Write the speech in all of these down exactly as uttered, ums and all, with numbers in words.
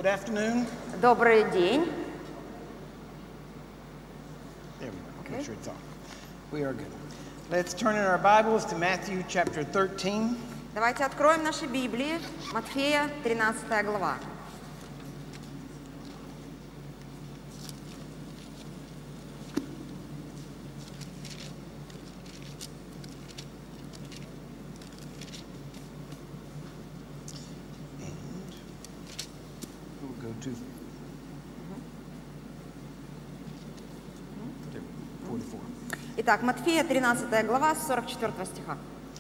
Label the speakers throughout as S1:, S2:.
S1: Good afternoon.
S2: Добрый день.
S1: There we go. Make sure it's on. We are good. Let's turn in our Bibles to Matthew chapter thirteen.
S2: Давайте откроем наши Библии. Матфея, тринадцатая глава.
S1: We'll go to forty-four.
S2: Итак, Матфея, тринадцатая глава, с сорок четвёртого стиха.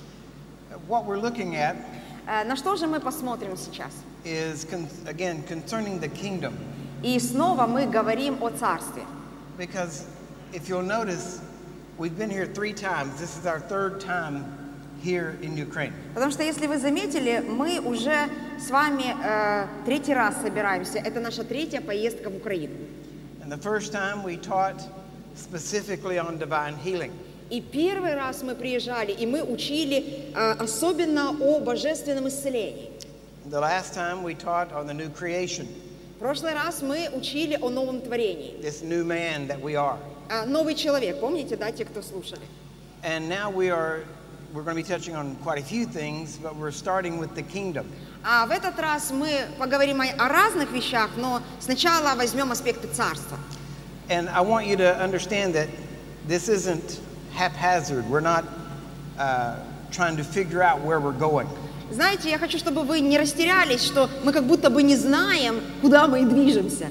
S1: What we're looking at
S2: Э, На что же мы посмотрим сейчас?
S1: is, con- again, concerning the kingdom.
S2: И снова мы говорим о царстве.
S1: Because if you'll notice, we've been here three times. This is our third time here in Ukraine.
S2: Потому что, если вы заметили, мы уже с вами э, третий раз собираемся. Это наша третья поездка в Украину.
S1: And the first time we taught specifically on divine healing.
S2: И первый раз мы приезжали, и мы учили э, особенно о божественном исцелении.
S1: The last time we taught on the new creation,
S2: В прошлый раз мы учили о новом творении.
S1: this new man that we are.
S2: А, новый человек, помните, да, те, кто слушали?
S1: And now we are, we're going to be touching on quite a few things, but we're starting with the kingdom.
S2: А в этот раз мы поговорим о, о разных вещах, но сначала возьмем аспекты царства.
S1: And I want you to understand that this isn't haphazard. We're not uh, trying to figure out where we're going.
S2: Знаете, я хочу, чтобы вы не растерялись, что мы как будто бы не знаем, куда мы движемся.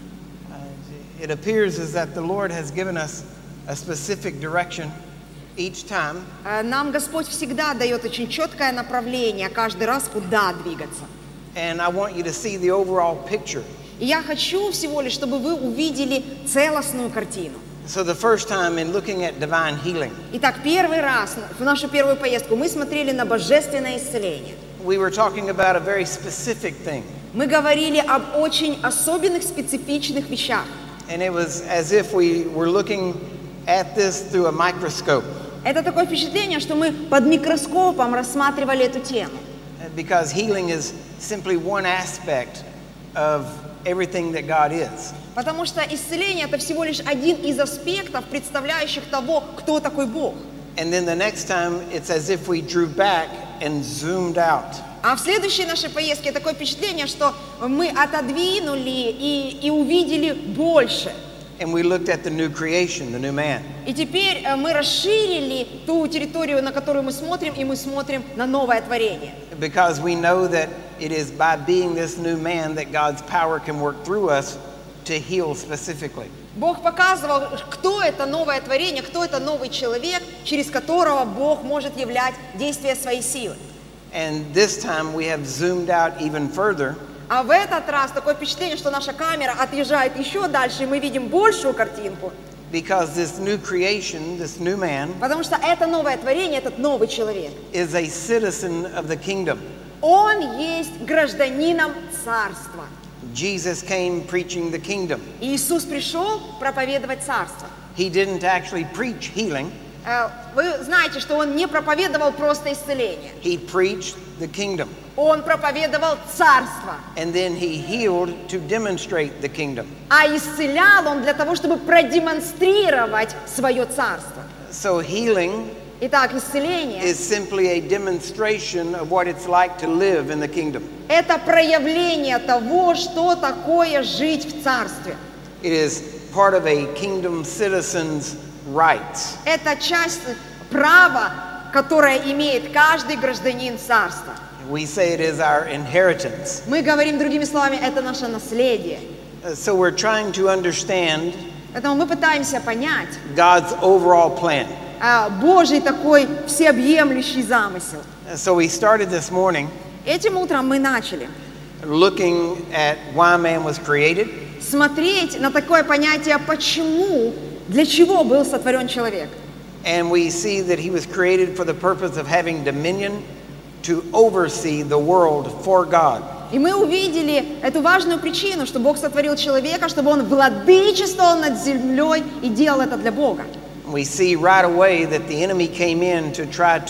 S1: Uh, it appears as that the Lord has given us a specific direction each time.
S2: Э, Нам Господь всегда дает очень четкое направление, каждый раз, куда двигаться.
S1: And I want you to see the overall picture.
S2: И я хочу всего лишь, чтобы вы увидели целостную картину.
S1: So the first time in looking at divine healing,
S2: Итак, первый раз в нашу первую поездку мы смотрели на божественное исцеление.
S1: we were talking about a very specific thing.
S2: Мы говорили об очень особенных, специфичных вещах.
S1: And it was as if we were looking at this through a microscope.
S2: Это такое впечатление, что мы под микроскопом рассматривали эту тему.
S1: Because healing is simply one aspect of everything that God is.
S2: Потому что исцеление – это всего лишь один из аспектов, представляющих того, кто такой Бог.
S1: And then the next time, it's as if we drew back and zoomed out.
S2: А в следующей нашей поездке такое впечатление, что мы отодвинули и, и увидели больше.
S1: And we looked at the new creation, the new man.
S2: И теперь э, мы расширили ту территорию, на которую мы смотрим, и мы смотрим на новое творение.
S1: Because we know that it is by being this new man that God's power can work through us to heal specifically.
S2: Бог показывал, кто это новое творение, кто это новый человек, через которого Бог может являть действие своей силы.
S1: And this time we have zoomed out even further.
S2: А в этот раз такое впечатление, что наша камера отъезжает еще дальше, и мы видим большую картинку.
S1: Because this new creation, this new man,
S2: Потому что это новое творение, этот новый человек,
S1: is a citizen of the kingdom.
S2: он есть гражданином царства.
S1: Jesus came preaching the kingdom.
S2: И Иисус пришел проповедовать царство.
S1: He didn't actually preach healing.
S2: Э, Вы знаете, что он не проповедовал просто исцеление.
S1: He preached the kingdom.
S2: Он проповедовал царство.
S1: And then he healed to demonstrate the kingdom.
S2: А исцелял он для того, чтобы продемонстрировать свое царство.
S1: So healing
S2: Итак, исцеление
S1: is simply a demonstration of what it's like to live in the kingdom.
S2: – это проявление того, что такое жить в царстве.
S1: It is part of a kingdom citizen's rights.
S2: Это часть права, которое имеет каждый гражданин царства.
S1: We say it is our inheritance.
S2: Мы говорим другими словами, это наше наследие.
S1: Uh, So we're trying to understand
S2: Поэтому мы пытаемся понять
S1: God's overall plan.
S2: а, Божий такой всеобъемлющий замысел.
S1: Uh, So we started this morning
S2: Этим утром мы начали
S1: looking at why man was created.
S2: смотреть на такое понятие «почему?», для чего был сотворен человек.
S1: And we see that he was created for the purpose of having dominion to oversee the world for God.
S2: И мы увидели эту важную причину, что Бог сотворил человека, чтобы он владычествовал над землей и делал это для Бога.
S1: We see right away that the enemy came in to try to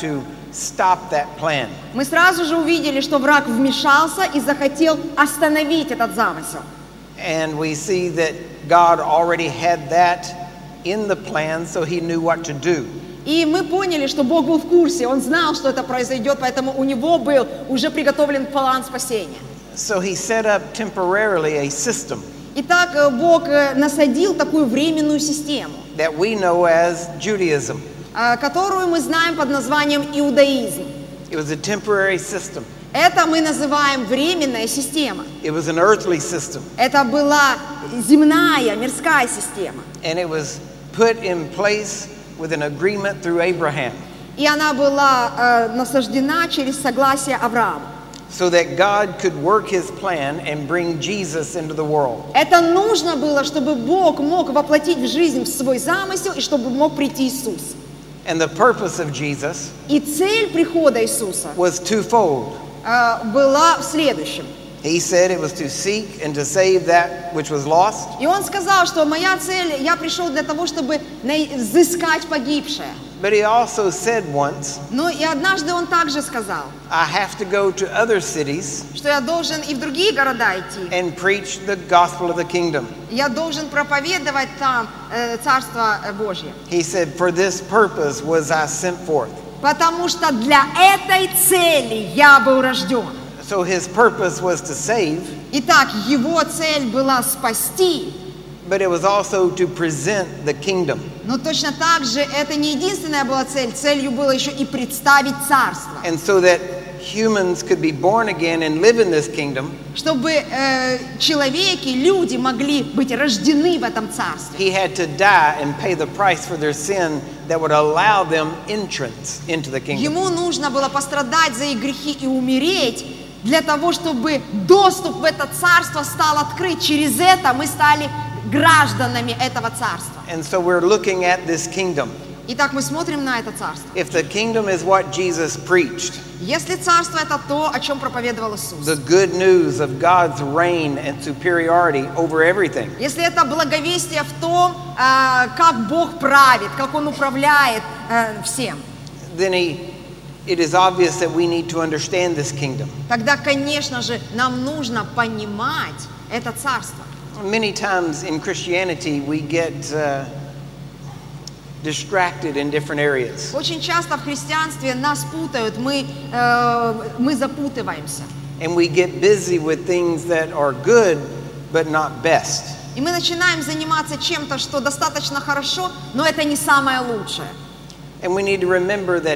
S1: stop that plan.
S2: Мы сразу же увидели, что враг вмешался и захотел остановить этот замысел.
S1: And we see that God already had that in the plan, so he knew what to do.
S2: И мы поняли, что Бог был в курсе, Он знал, что это произойдет, поэтому у Него был уже приготовлен план спасения.
S1: So he set up temporarily a system
S2: Итак, э, Бог э, насадил такую временную систему,
S1: that we know as Judaism.
S2: э, которую мы знаем под названием иудаизм.
S1: It was a temporary system.
S2: Это мы называем временная система.
S1: It was an earthly system.
S2: Это была земная, мирская система.
S1: And it was put in place with an agreement through Abraham,
S2: И она была э, насаждена через согласие Авраама.
S1: so that God could work his plan and bring Jesus into the world.
S2: Это нужно было, чтобы Бог мог воплотить в жизнь свой замысел и чтобы мог прийти Иисус.
S1: And the purpose of Jesus
S2: И цель прихода Иисуса
S1: was twofold.
S2: э, была в следующем.
S1: He said it was to seek and to save that which was lost,
S2: И Он сказал, что моя цель, я пришел для того, чтобы най- взыскать погибшее.
S1: but he also said once,
S2: Но и однажды Он также сказал,
S1: I have to go to other cities
S2: что я должен и в другие города идти.
S1: and preach the gospel of the kingdom.
S2: Я должен проповедовать там э, Царство э, Божье.
S1: He said, for this purpose was I sent forth.
S2: Потому что для этой цели я был рожден.
S1: So his purpose was to save,
S2: Итак, Его цель была спасти,
S1: but it was also to present the kingdom.
S2: но точно так же это не единственная была цель. Целью было еще и представить Царство.
S1: And so that humans could be born again and live in this kingdom,
S2: Чтобы э, человеки, люди могли быть рождены в этом Царстве.
S1: he had to die and pay the price for their sin that would allow them entrance into the kingdom.
S2: Ему нужно было пострадать за их грехи и умереть, для того, чтобы доступ в это Царство стал открыт. Через это мы стали гражданами этого Царства.
S1: And so we're looking at this kingdom.
S2: Итак, мы смотрим на это Царство.
S1: If the kingdom is what Jesus preached,
S2: Если Царство — это то, о чем проповедовал Иисус,
S1: the good news of God's reign and superiority over everything,
S2: если это благовестие в том, э, как Бог правит, как Он управляет э, всем,
S1: then he, it is obvious that we need to understand this kingdom.
S2: тогда, конечно же, нам нужно понимать это Царство.
S1: Many times in Christianity we get uh, distracted in different areas.
S2: Очень часто в христианстве нас путают, мы, э, мы запутываемся.
S1: And we get busy with things that are good but not best.
S2: И мы начинаем заниматься чем-то, что достаточно хорошо, но это не самое лучшее.
S1: And we need to remember that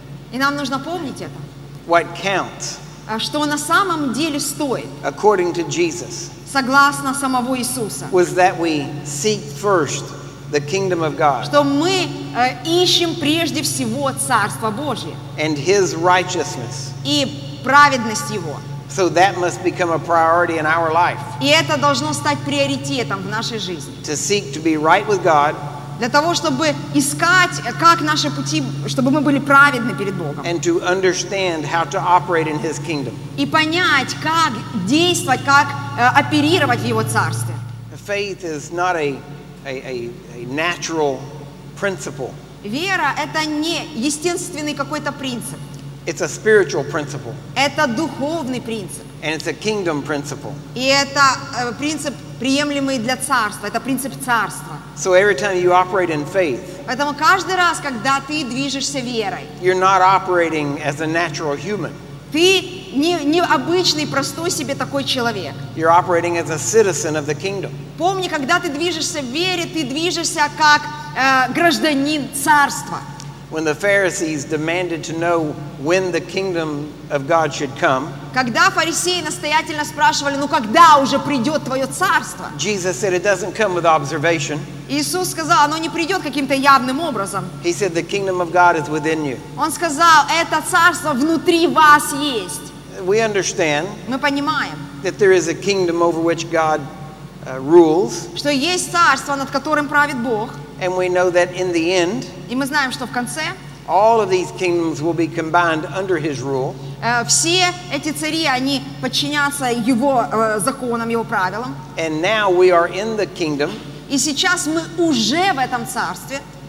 S2: И нам нужно помнить это,
S1: what counts,
S2: э, что на самом деле стоит,
S1: according to Jesus,
S2: согласно самого Иисуса,
S1: was that we seek first the kingdom of God
S2: что мы э, ищем прежде всего Царство Божье
S1: and his righteousness.
S2: и праведность Его.
S1: So that must become a priority in our life,
S2: И это должно стать приоритетом в нашей жизни.
S1: to seek to be right with God
S2: Для того, чтобы искать, э, как наши пути, чтобы мы были праведны перед Богом.
S1: and to understand how to operate in his kingdom.
S2: И понять, как действовать, как э, оперировать в Его Царстве.
S1: Faith is not a, a, a, a natural principle.
S2: Вера – это не естественный какой-то принцип.
S1: It's a spiritual principle,
S2: Это духовный принцип.
S1: and it's a kingdom principle.
S2: И это э, принцип, приемлемый для царства. Это принцип царства.
S1: So every time you operate in faith,
S2: Поэтому каждый раз, когда ты движешься верой,
S1: you're not operating as a natural human.
S2: ты не, не обычный, простой себе такой человек.
S1: You're operating as a citizen of the kingdom.
S2: Помни, когда ты движешься в вере, ты движешься как э, гражданин царства.
S1: When the Pharisees demanded to know when the kingdom of God should come,
S2: Когда фарисеи настоятельно спрашивали, ну когда уже придет твое царство?
S1: Jesus said it doesn't come with observation.
S2: Иисус сказал, оно не придет каким-то явным образом.
S1: He said the kingdom of God is within you.
S2: Он сказал, это царство внутри вас есть.
S1: We understand
S2: Мы понимаем,
S1: that there is a kingdom over which God uh, rules,
S2: что есть царство, над которым правит Бог.
S1: and we know that in the end,
S2: И мы знаем, что в конце
S1: all of these kingdoms will be combined under his rule.
S2: э, все эти цари, они подчинятся его э, законам, его правилам.
S1: And now we are in the kingdom
S2: И сейчас мы уже в этом царстве,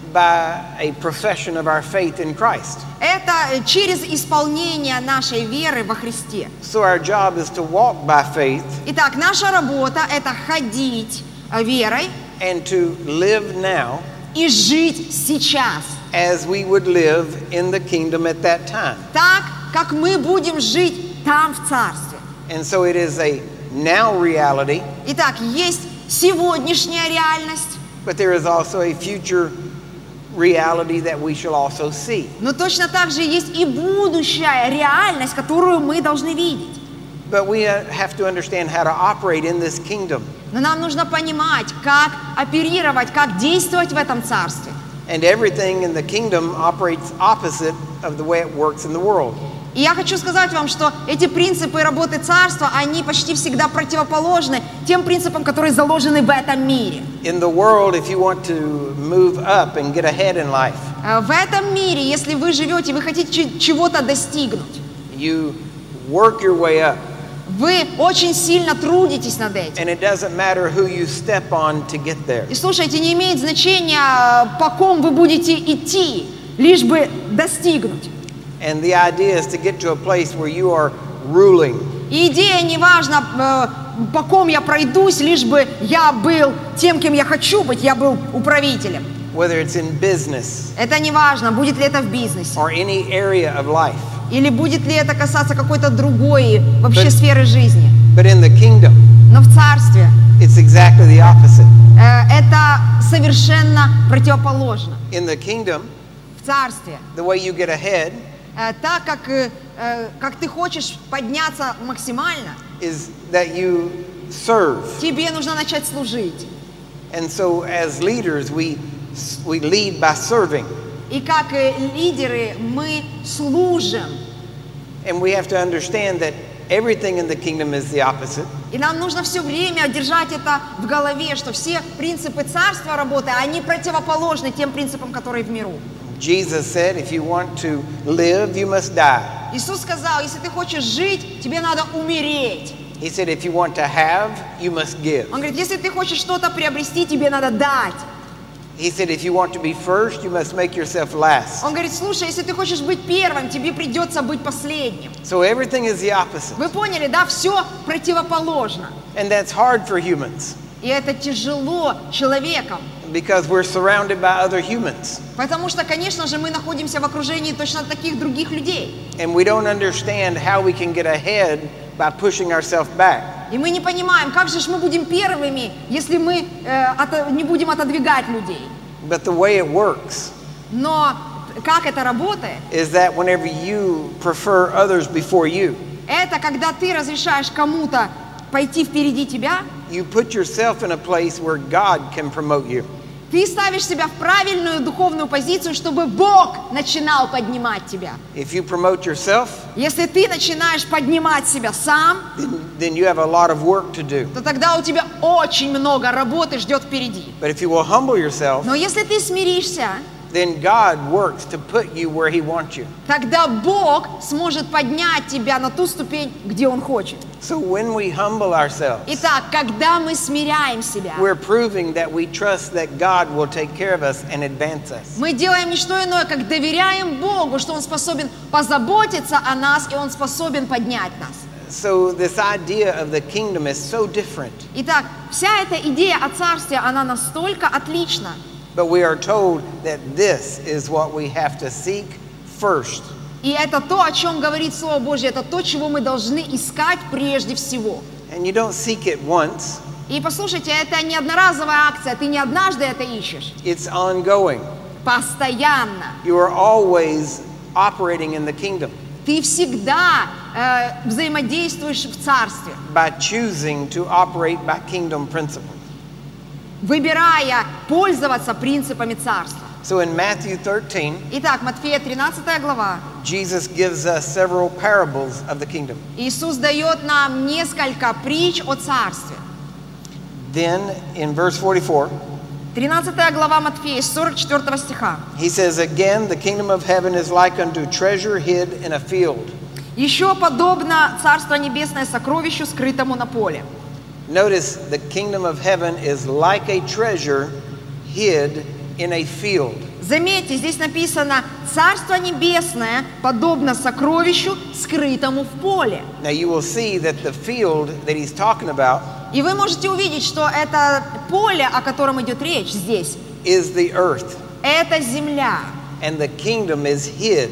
S1: by a profession of our faith in Christ.
S2: Это через исполнение нашей веры во Христе.
S1: So our job is to walk by faith
S2: Итак, наша работа – это ходить э, верой
S1: and to live now
S2: и жить сейчас,
S1: as we would live in the kingdom at that time.
S2: так, как мы будем жить там, в Царстве.
S1: And so it is a now reality,
S2: Итак, есть сегодняшняя реальность,
S1: but there is also a future reality that we shall also see.
S2: но точно так же есть и будущая реальность, которую мы должны видеть.
S1: But we uh, have to understand how to operate in this kingdom.
S2: Но нам нужно понимать, как оперировать, как действовать в этом Царстве.
S1: And everything in the kingdom operates opposite of the way it works in the world.
S2: И я хочу сказать вам, что эти принципы работы Царства, они почти всегда противоположны тем принципам, которые заложены в этом мире.
S1: In the world, if you want to move up and get ahead in life,
S2: Э, В этом мире, если вы живете, вы хотите ч- чего-то достигнуть,
S1: you work your way up.
S2: вы очень сильно трудитесь над этим.
S1: And it doesn't matter who you step on to get there.
S2: И слушайте, не имеет значения, э, по ком вы будете идти, лишь бы достигнуть.
S1: And the idea is to get to a place where you are ruling.
S2: И идея не важна, э, по ком я пройдусь, лишь бы я был тем, кем я хочу быть, я был управителем.
S1: Whether it's in business
S2: Это не важно, будет ли это в бизнесе,
S1: or any area of life.
S2: или будет ли это касаться какой-то другой вообще
S1: But-
S2: сферы жизни.
S1: But in the kingdom,
S2: Но в Царстве
S1: it's exactly the opposite.
S2: э, это совершенно противоположно.
S1: In the kingdom,
S2: В Царстве,
S1: the way you get ahead
S2: э, так как, э, э, как ты хочешь подняться максимально,
S1: is that you serve.
S2: тебе нужно начать служить.
S1: And so as leaders, we we lead by serving.
S2: И как э, лидеры мы служим.
S1: And we have to understand that everything in the kingdom is the opposite.
S2: И нам нужно все время держать это в голове, что все принципы Царства работы, они противоположны тем принципам, которые в миру.
S1: Jesus said, if you want to live, you must die.
S2: Иисус сказал, если ты хочешь жить, тебе надо умереть.
S1: He said, if you want to have, you must give.
S2: Он говорит, если ты хочешь что-то приобрести, тебе надо дать.
S1: He said, if you want to be first, you must make yourself last.
S2: Он говорит, слушай, если ты хочешь быть первым, тебе придется быть последним.
S1: So everything is the opposite.
S2: Вы поняли, да? Все противоположно.
S1: And that's hard for humans
S2: И это тяжело человеком.
S1: because we're surrounded by other humans.
S2: Потому что, конечно же, мы находимся в окружении точно таких других людей.
S1: And we don't understand how we can get ahead by pushing ourselves back.
S2: И мы не понимаем, как же ж мы будем первыми, если мы э, ото- не будем отодвигать людей.
S1: But the way it works
S2: Но как это работает?
S1: is that whenever you prefer others before you,
S2: Это когда ты разрешаешь кому-то пойти впереди тебя,
S1: you put yourself in a place where God can promote you.
S2: ты ставишь себя в правильную духовную позицию, чтобы Бог начинал поднимать тебя.
S1: If you promote yourself,
S2: Если ты начинаешь поднимать себя сам,
S1: then, then you have a lot of work to do.
S2: то тогда у тебя очень много работы ждет впереди.
S1: But if you will humble yourself,
S2: Но если ты смиришься,
S1: then God works to put you where He wants you.
S2: тогда Бог сможет поднять тебя на ту ступень, где Он хочет.
S1: So when we humble ourselves,
S2: Итак, когда мы смиряем себя,
S1: we're proving that we trust that God will take care of us and advance us.
S2: мы делаем не что иное, как доверяем Богу, что Он способен позаботиться о нас, и Он способен поднять нас.
S1: So this idea of the kingdom is so different.
S2: Итак, вся эта идея о Царстве, она настолько отлична.
S1: But we are told that this is what we have to seek first.
S2: И это то, о чем говорит Слово Божье, это то, чего мы должны искать прежде всего.
S1: And you don't seek it once,
S2: И послушайте, это не одноразовая акция, ты не однажды это ищешь.
S1: it's ongoing.
S2: Постоянно.
S1: You are always operating in the kingdom
S2: Ты всегда э, взаимодействуешь в Царстве,
S1: by choosing to operate by kingdom principles.
S2: выбирая пользоваться принципами Царства.
S1: So in Matthew thirteen,
S2: Итак, Матфея тринадцатая глава.
S1: Jesus gives us several parables of the kingdom.
S2: Иисус дает нам несколько притч о Царстве.
S1: Then in verse forty-four,
S2: тринадцатая глава Матфея, с сорок четвёртого стиха.
S1: he says, again, the kingdom of heaven is like unto treasure hid in a field.
S2: Еще подобно Царство Небесное сокровищу, скрытому на поле.
S1: Notice the kingdom of heaven is like a treasure hid in a field.
S2: Заметьте, здесь написано: Царство Небесное подобно сокровищу, скрытому в поле.
S1: Now you will see that the field that he's talking about
S2: И вы можете увидеть, что это поле, о котором идет речь здесь,
S1: is the earth,
S2: это земля.
S1: and the kingdom is hid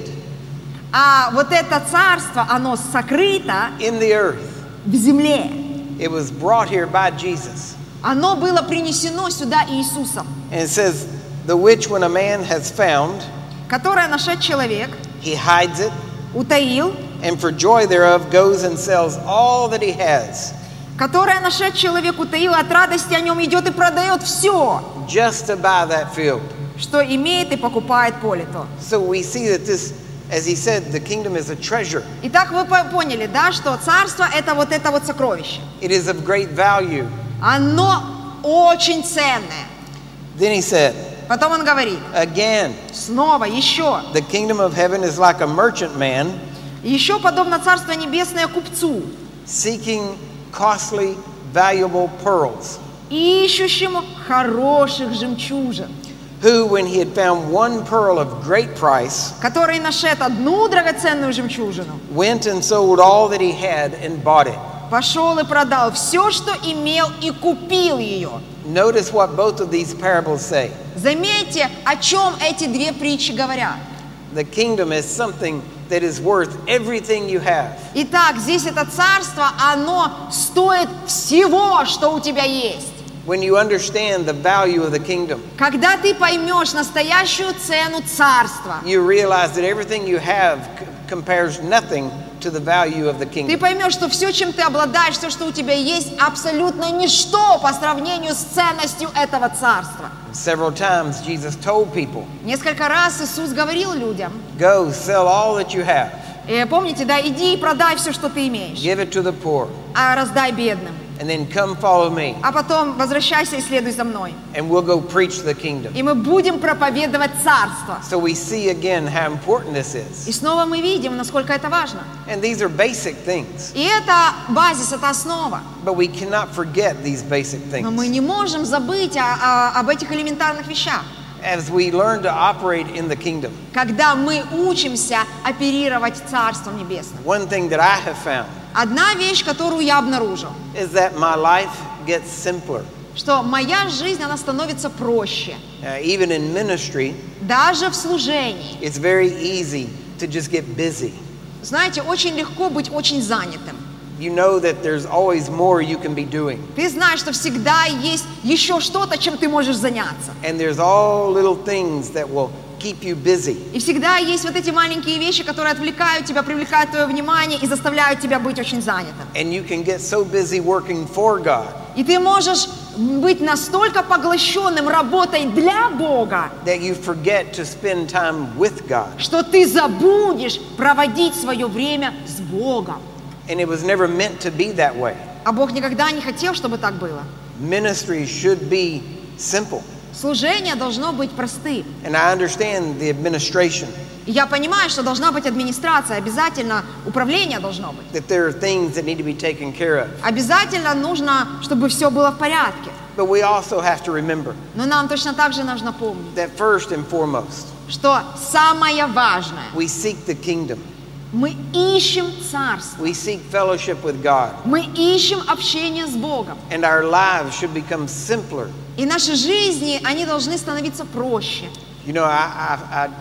S2: А вот это царство, оно сокрыто
S1: in the earth.
S2: в земле.
S1: It was brought here by Jesus.
S2: Оно было принесено сюда Иисусом,
S1: And it says, the which when a man has found,
S2: которое нашед человек,
S1: he hides it,
S2: утаил,
S1: and for joy thereof goes and sells all that he has,
S2: которое нашед человек, утаил, от радости о нем идет и продает все,
S1: just to buy that field.
S2: что имеет, и покупает поле то.
S1: So we see that this, as he said, the kingdom is a treasure.
S2: Итак, вы по- поняли, да, что царство — это вот это вот сокровище.
S1: It is of great value.
S2: Оно очень ценное.
S1: Then he said,
S2: Потом он говорит,
S1: again,
S2: снова, еще,
S1: the kingdom of heaven is like a merchant man
S2: еще подобно Царство Небесное купцу,
S1: seeking costly, valuable pearls,
S2: ищущему хороших жемчужин,
S1: who, when he had found one pearl of great price,
S2: который нашед одну драгоценную жемчужину,
S1: went and sold all that he had and bought it.
S2: пошел и продал все, что имел, и купил ее.
S1: Notice what both of these parables say.
S2: Заметьте, о чем эти две притчи говорят.
S1: The kingdom is something that is worth everything you have.
S2: Итак, здесь это царство, оно стоит всего, что у тебя есть.
S1: When you understand the value of the kingdom,
S2: Когда ты поймешь настоящую цену царства,
S1: you realize that everything you have c- compares nothing to the value of the
S2: ты
S1: kingdom.
S2: поймешь, что все, чем ты обладаешь, все, что у тебя есть, абсолютно ничто по сравнению с ценностью этого царства.
S1: Several times Jesus told people,
S2: Несколько раз Иисус говорил людям,
S1: go sell all that you have,
S2: э, помните, да, иди и продай все, что ты имеешь,
S1: give it to the poor,
S2: а раздай бедным,
S1: and then come follow me,
S2: а потом возвращайся и следуй за мной.
S1: and we'll go preach the kingdom.
S2: И мы будем проповедовать царство.
S1: So we see again how important this is.
S2: И снова мы видим, насколько это важно.
S1: And these are basic things,
S2: И это базис, это основа.
S1: but we cannot forget these basic
S2: Но мы
S1: things.
S2: не можем забыть о- о- об этих элементарных вещах.
S1: As we learn to operate in the kingdom,
S2: Когда мы учимся оперировать Царством Небесным.
S1: one thing that I have found
S2: Одна вещь, которую я обнаружил,
S1: is that my life gets simpler.
S2: что моя жизнь, она становится проще.
S1: Uh, even in ministry,
S2: Даже в служении.
S1: it's very easy to just get busy.
S2: Знаете, очень легко быть очень занятым.
S1: You know that there's always more you can be doing.
S2: Ты знаешь, что всегда есть еще что-то, чем ты можешь заняться.
S1: And there's all little things that will keep you busy.
S2: И всегда есть вот эти маленькие вещи, которые отвлекают тебя, привлекают твое внимание и заставляют тебя быть очень занятым.
S1: And you can get so busy working for God
S2: И ты можешь быть настолько поглощенным работой для Бога,
S1: that you forget to spend time with God.
S2: что ты забудешь проводить свое время с Богом.
S1: And it was never meant to be that way.
S2: А Бог никогда не хотел, чтобы так было.
S1: Ministry should be simple.
S2: Служение должно быть простым.
S1: And I understand the administration,
S2: И я понимаю, что должна быть администрация, обязательно управление должно быть.
S1: that there are things that need to be taken care of.
S2: Обязательно нужно, чтобы все было в порядке.
S1: But we also have to remember
S2: Но нам точно так же нужно помнить,
S1: that first and foremost,
S2: что самое важное,
S1: we seek the kingdom.
S2: мы ищем царство,
S1: We seek fellowship with God.
S2: мы ищем общение с Богом.
S1: And our lives should become simpler.
S2: И наши жизни, они должны становиться проще.
S1: You know, I, I, I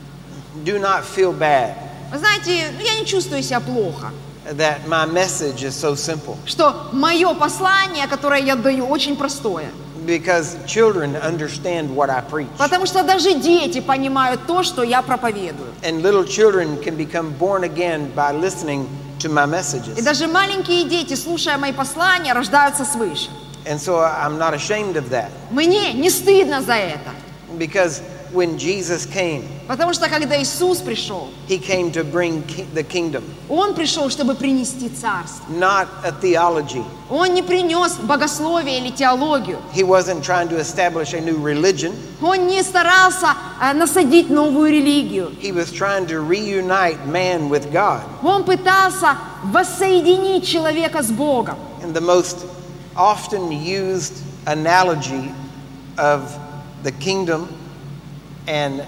S1: do not feel bad
S2: Вы знаете, ну, я не чувствую себя плохо,
S1: that my message is so simple,
S2: что мое послание, которое я даю, очень простое.
S1: because children understand what I preach.
S2: Потому что даже дети понимают то, что я проповедую.
S1: And little children can become born again by listening to my
S2: И
S1: messages.
S2: даже маленькие дети, слушая мои послания, рождаются свыше.
S1: And so I'm not ashamed of that,
S2: Мне не стыдно за это.
S1: because when Jesus came,
S2: Потому что когда Иисус пришел,
S1: he came to bring ki- the kingdom,
S2: Он пришел, чтобы принести царство.
S1: not a theology.
S2: Он не принес богословие или теологию.
S1: He wasn't trying to establish a new religion.
S2: Он не старался э, насадить новую религию.
S1: He was trying to reunite man with God.
S2: Он пытался воссоединить человека с Богом.
S1: And the most often used analogy of the kingdom and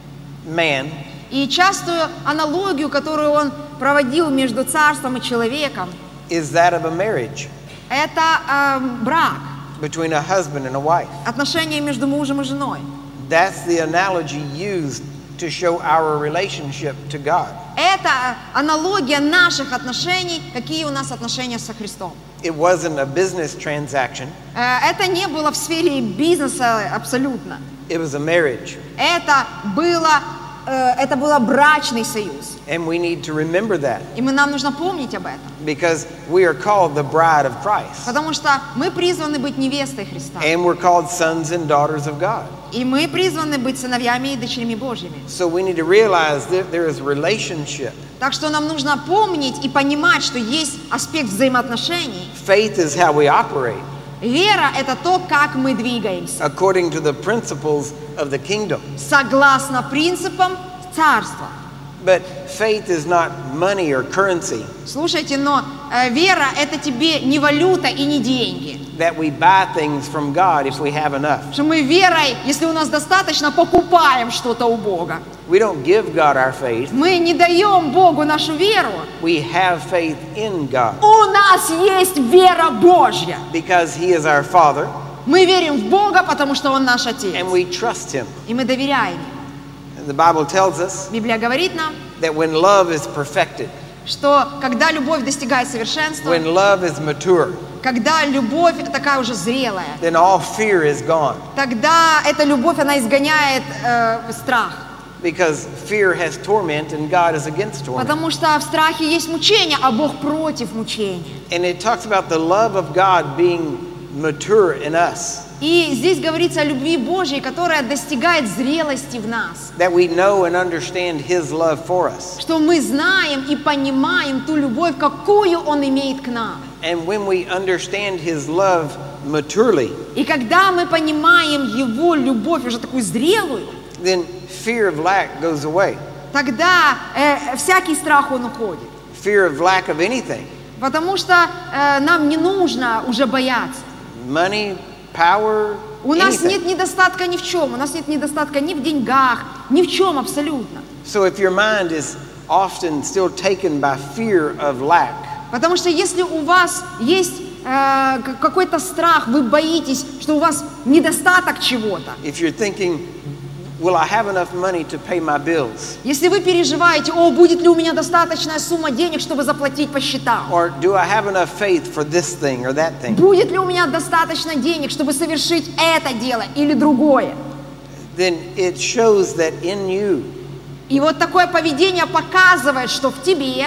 S1: man
S2: И частую аналогию, которую он проводил между царством и человеком,
S1: is that of a marriage
S2: это э, брак,
S1: between a husband and a wife.
S2: отношения между мужем и женой.
S1: That's the analogy used to show our relationship to God.
S2: Это аналогия наших отношений, какие у нас отношения со Христом.
S1: It wasn't a business transaction.
S2: Э, Это не было в сфере бизнеса абсолютно.
S1: It was a marriage.
S2: Это было, э, это был брачный союз.
S1: And we need to remember that
S2: И мы, нам нужно помнить об этом.
S1: because we are called the bride of Christ.
S2: Потому что мы призваны быть невестой Христа.
S1: And we're called sons and daughters of God.
S2: И мы призваны быть сыновьями и дочерьми Божьими.
S1: So we need to realize that there is relationship.
S2: Так что нам нужно помнить и понимать, что есть аспект взаимоотношений.
S1: Faith is how we operate
S2: Вера – это то, как мы двигаемся,
S1: according to the principles of the kingdom.
S2: согласно принципам царства.
S1: But faith is not money or currency
S2: Слушайте, но э, вера – это тебе не валюта и не деньги.
S1: that we buy things from God if we have enough.
S2: Что мы верой, если у нас достаточно, покупаем что-то у Бога.
S1: We don't give God our faith.
S2: Мы не даем Богу нашу веру.
S1: We have faith in God
S2: У нас есть вера Божья.
S1: because He is our Father
S2: Мы верим в Бога, потому что Он наш Отец.
S1: and we trust Him.
S2: И мы доверяем Ему.
S1: And the Bible tells us
S2: Библия говорит нам,
S1: that when love is perfected,
S2: что когда любовь достигает совершенства,
S1: when love is mature,
S2: когда любовь такая уже зрелая,
S1: then all fear is gone
S2: тогда эта любовь, она изгоняет э, страх.
S1: because fear has torment and God is against torment.
S2: Потому что в страхе есть мучение, а Бог против мучения.
S1: And it talks about the love of God being mature in us,
S2: И здесь говорится о любви Божьей, которая достигает зрелости в нас.
S1: that we know and understand His love for us.
S2: Что мы знаем и понимаем ту любовь, какую Он имеет к нам.
S1: And when we understand His love maturely,
S2: И когда мы понимаем Его любовь, уже такую зрелую,
S1: then fear of lack goes away.
S2: тогда э, всякий страх, он уходит.
S1: Fear of lack of anything.
S2: Потому что э, нам не нужно уже бояться.
S1: Money, power,
S2: У нас
S1: anything.
S2: нет недостатка ни в чем. У нас нет недостатка ни в деньгах, ни в чем абсолютно.
S1: So if your mind is often still taken by fear of lack,
S2: Потому что если у вас есть э, к- какой-то страх, вы боитесь, что у вас недостаток чего-то.
S1: if you're thinking, will I have enough money to pay my bills?
S2: Если вы переживаете, о, будет ли у меня достаточная сумма денег, чтобы заплатить по счетам?
S1: Or do I have enough faith for this thing or that thing?
S2: Будет ли у меня достаточно денег, чтобы совершить это дело или другое?
S1: Then it shows that in you,
S2: И вот такое поведение показывает, что в тебе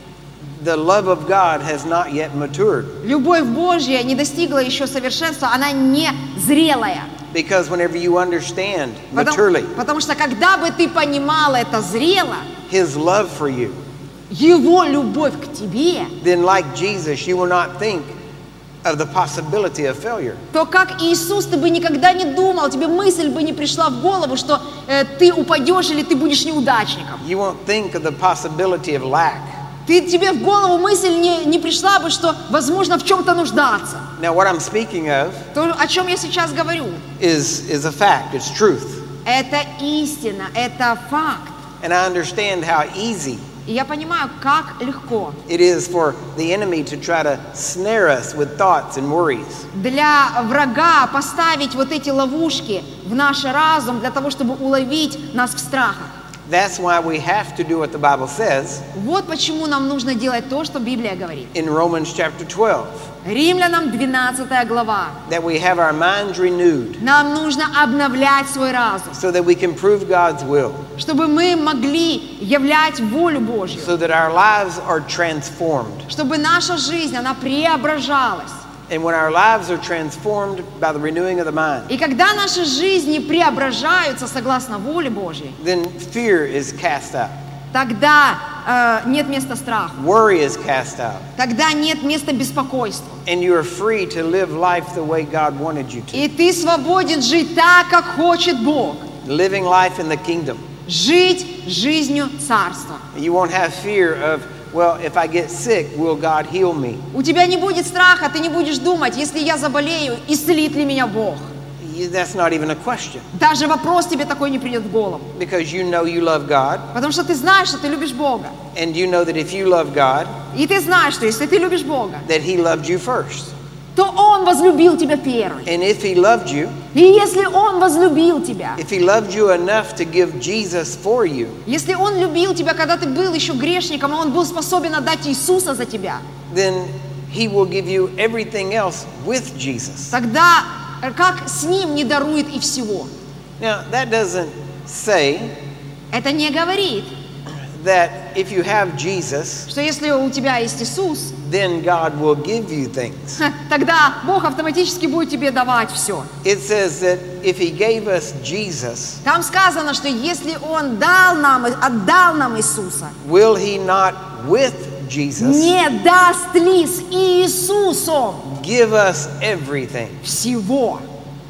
S1: the love of God has not yet matured.
S2: любовь Божья не достигла еще совершенства, она не зрелая.
S1: Because whenever you understand
S2: Потому,
S1: maturely
S2: потому что когда бы ты понимал это зрело,
S1: His love for you,
S2: Его любовь к тебе,
S1: then like Jesus, you will not think of the possibility of failure.
S2: то как Иисус, ты бы никогда не думал, тебе мысль бы не пришла в голову, что э, ты упадешь или ты будешь неудачником.
S1: You won't think of the possibility of lack.
S2: Ты, тебе в голову мысль не, не пришла бы, что возможно в чем-то нуждаться.
S1: Now what I'm speaking of
S2: То, о чем я сейчас говорю,
S1: is, is a fact, it's truth.
S2: это истина, это факт.
S1: And I understand how easy
S2: И я понимаю, как легко
S1: it is for the enemy to try to snare us with thoughts and worries.
S2: для врага поставить вот эти ловушки в наш разум для того, чтобы уловить нас в страхах.
S1: That's why we have to do what the Bible says
S2: Вот почему нам нужно делать то, что Библия говорит.
S1: in Romans chapter twelve,
S2: Римлянам двенадцатая глава.
S1: that we have our minds renewed
S2: Нам нужно обновлять свой разум,
S1: so that we can prove God's will,
S2: чтобы мы могли являть волю Божью,
S1: so that our lives are transformed.
S2: чтобы наша жизнь, она преображалась.
S1: And when our lives are transformed by the renewing of the mind,
S2: И когда наши жизни преображаются согласно воле Божьей,
S1: then fear is cast out.
S2: тогда э, нет места страху,
S1: Worry is cast out.
S2: тогда нет места беспокойству.
S1: And you are free to live life the way God wanted you to.
S2: И ты свободен жить так, как хочет Бог.
S1: Living life in the kingdom.
S2: Жить жизнью Царства.
S1: You won't have fear of, well, if I get sick, will God heal me?
S2: У тебя не будет страха, ты не будешь думать, если я заболею, исцелит ли меня Бог.
S1: that's not even a question.
S2: Даже вопрос тебе такой не придет в голову.
S1: Because you know you love God.
S2: Потому что ты знаешь, что ты любишь Бога.
S1: And you know that if you love God,
S2: И ты знаешь, что если ты любишь Бога,
S1: that He loved you first.
S2: то Он возлюбил тебя первым.
S1: And if He loved you,
S2: И если Он возлюбил тебя,
S1: if He loved you enough to give Jesus for you,
S2: если Он любил тебя, когда ты был еще грешником, и Он был способен отдать Иисуса за тебя,
S1: then He will give you everything else with Jesus.
S2: тогда как с Ним не дарует и всего?
S1: Now, that doesn't say
S2: Это не говорит,
S1: that if you have Jesus,
S2: что если у тебя есть Иисус,
S1: then God will give you things.
S2: тогда Бог автоматически будет тебе давать все.
S1: It says that if He gave us Jesus,
S2: Там сказано, что если Он дал нам, отдал нам Иисуса,
S1: will He not with Jesus
S2: не даст ли с Иисусом
S1: give us everything?
S2: всего?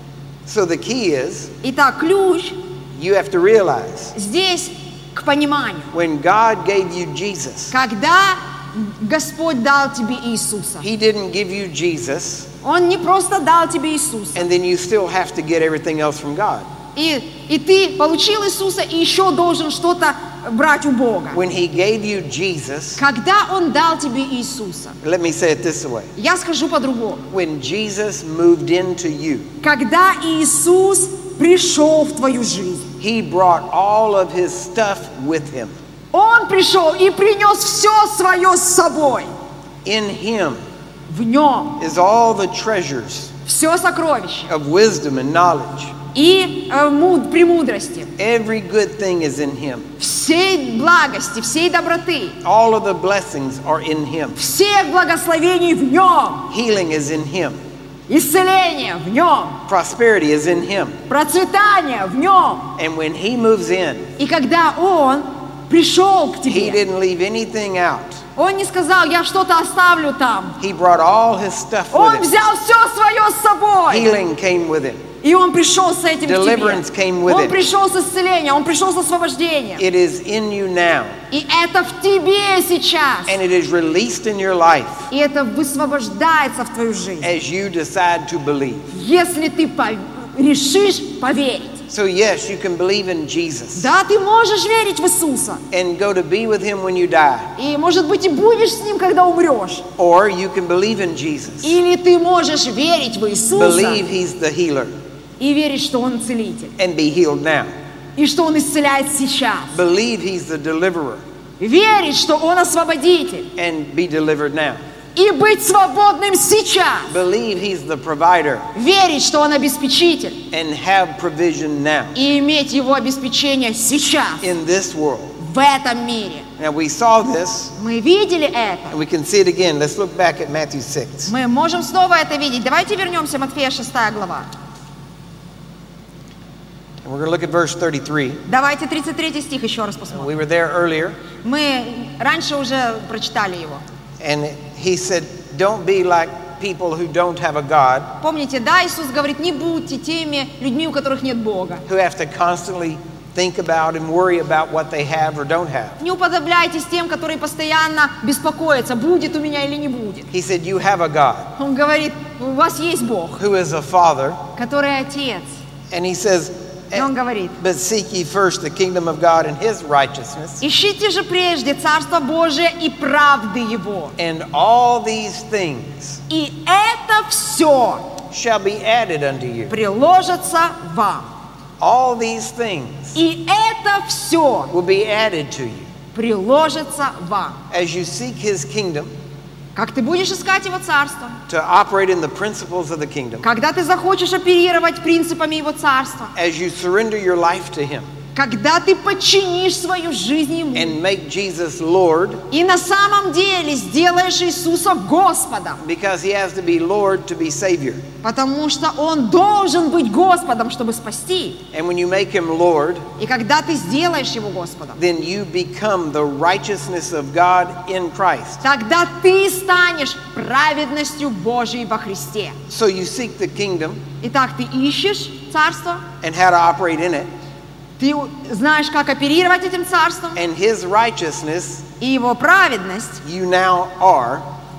S1: So the key is,
S2: Итак, ключ
S1: you have to realize,
S2: здесь к пониманию.
S1: when God gave you Jesus,
S2: Когда Господь дал тебе Иисуса,
S1: He didn't give you Jesus,
S2: Он не просто дал тебе Иисуса,
S1: and then you still have to get everything else from God.
S2: и, и ты получил Иисуса, и еще должен что-то брать у Бога.
S1: When He gave you Jesus,
S2: Когда Он дал тебе Иисуса,
S1: let me say it this way.
S2: я скажу по-другому.
S1: When Jesus moved into you,
S2: Когда Иисус пришел в твою жизнь,
S1: He brought all of His stuff with Him.
S2: Он пришел и принес все свое с собой.
S1: In Him
S2: В Нем
S1: is all the treasures
S2: все сокровища
S1: of wisdom and knowledge.
S2: и э, муд- премудрости,
S1: Every good thing is in Him.
S2: всей благости, всей доброты,
S1: All of the blessings are in Him.
S2: всех благословений в Нем,
S1: Healing is in Him.
S2: исцеление в Нем,
S1: Prosperity is in Him.
S2: процветание в Нем.
S1: And when He moves in,
S2: И когда Он пришел к
S1: He
S2: тебе,
S1: didn't leave anything out.
S2: Он не сказал, я что-то оставлю там.
S1: He brought all His stuff
S2: Он
S1: with Him.
S2: взял все свое с собой.
S1: Healing came with Him.
S2: И Он пришел с этим к
S1: Deliverance
S2: тебе.
S1: came with
S2: Он
S1: it.
S2: пришел с исцелением, Он пришел с освобождением.
S1: It is in you now.
S2: И это в тебе сейчас.
S1: And it is released in your life
S2: И это высвобождается в твою жизнь.
S1: as you decide to believe.
S2: Если ты по- решишь поверить.
S1: So yes, you can believe in Jesus
S2: Да, ты можешь верить в Иисуса.
S1: and go to be with Him when you die.
S2: И, может быть, и будешь с Ним, когда умрешь.
S1: Or you can believe in Jesus.
S2: Или ты можешь верить в Иисуса
S1: Believe He's the healer
S2: и верить, что Он целитель.
S1: and be healed now.
S2: И что Он исцеляет сейчас.
S1: Believe He's the deliverer
S2: Верить, что Он освободитель.
S1: and be delivered now.
S2: И быть свободным сейчас.
S1: Believe He's the provider
S2: Верить, что Он обеспечитель.
S1: and have provision now
S2: И иметь Его обеспечение сейчас.
S1: in this world.
S2: В этом мире.
S1: Now we saw this
S2: Мы видели это.
S1: and we can see it again. Let's look back at Matthew six.
S2: Мы можем снова это видеть. Давайте вернемся в Матфея шестая глава.
S1: And we're going to look at verse thirty-three.
S2: Давайте тридцать третий стих еще раз
S1: We
S2: посмотрим.
S1: were there earlier
S2: Мы раньше уже прочитали его.
S1: and He said, don't be like people who don't have a God,
S2: Помните, да, Иисус говорит, не будьте теми людьми, у которых нет Бога.
S1: who have to constantly think about and worry about what they have or don't have.
S2: Не уподобляйтесь тем, которые постоянно беспокоятся, будет у меня или не будет.
S1: He said, you have a God
S2: Он говорит, у вас есть Бог,
S1: who is a Father.
S2: который Отец.
S1: And He says,
S2: И Он говорит,
S1: but seek ye first the kingdom of God and His righteousness,
S2: ищите же прежде Царство Божие и правды Его.
S1: and all these things
S2: И это все
S1: shall be added unto you.
S2: приложится вам.
S1: All these things
S2: И это все
S1: will be added to you.
S2: приложится вам.
S1: As you seek His kingdom,
S2: Как ты будешь искать Его Царство?
S1: to operate in the principles of the kingdom,
S2: Когда ты захочешь оперировать принципами Его Царства?
S1: as you surrender your life to Him
S2: Когда ты подчинишь свою жизнь Ему?
S1: and make Jesus Lord,
S2: И на самом деле сделаешь Иисуса Господом,
S1: because He has to be Lord to be Savior.
S2: потому что Он должен быть Господом, чтобы спасти.
S1: And when you make Him Lord,
S2: И когда ты сделаешь Его Господом,
S1: then you become the righteousness of God in Christ.
S2: тогда ты станешь праведностью Божией во Христе.
S1: So you seek the kingdom
S2: Итак, ты ищешь Царство,
S1: and how to operate in it,
S2: ты знаешь, как оперировать этим Царством,
S1: and His righteousness
S2: и Его праведность
S1: you now are,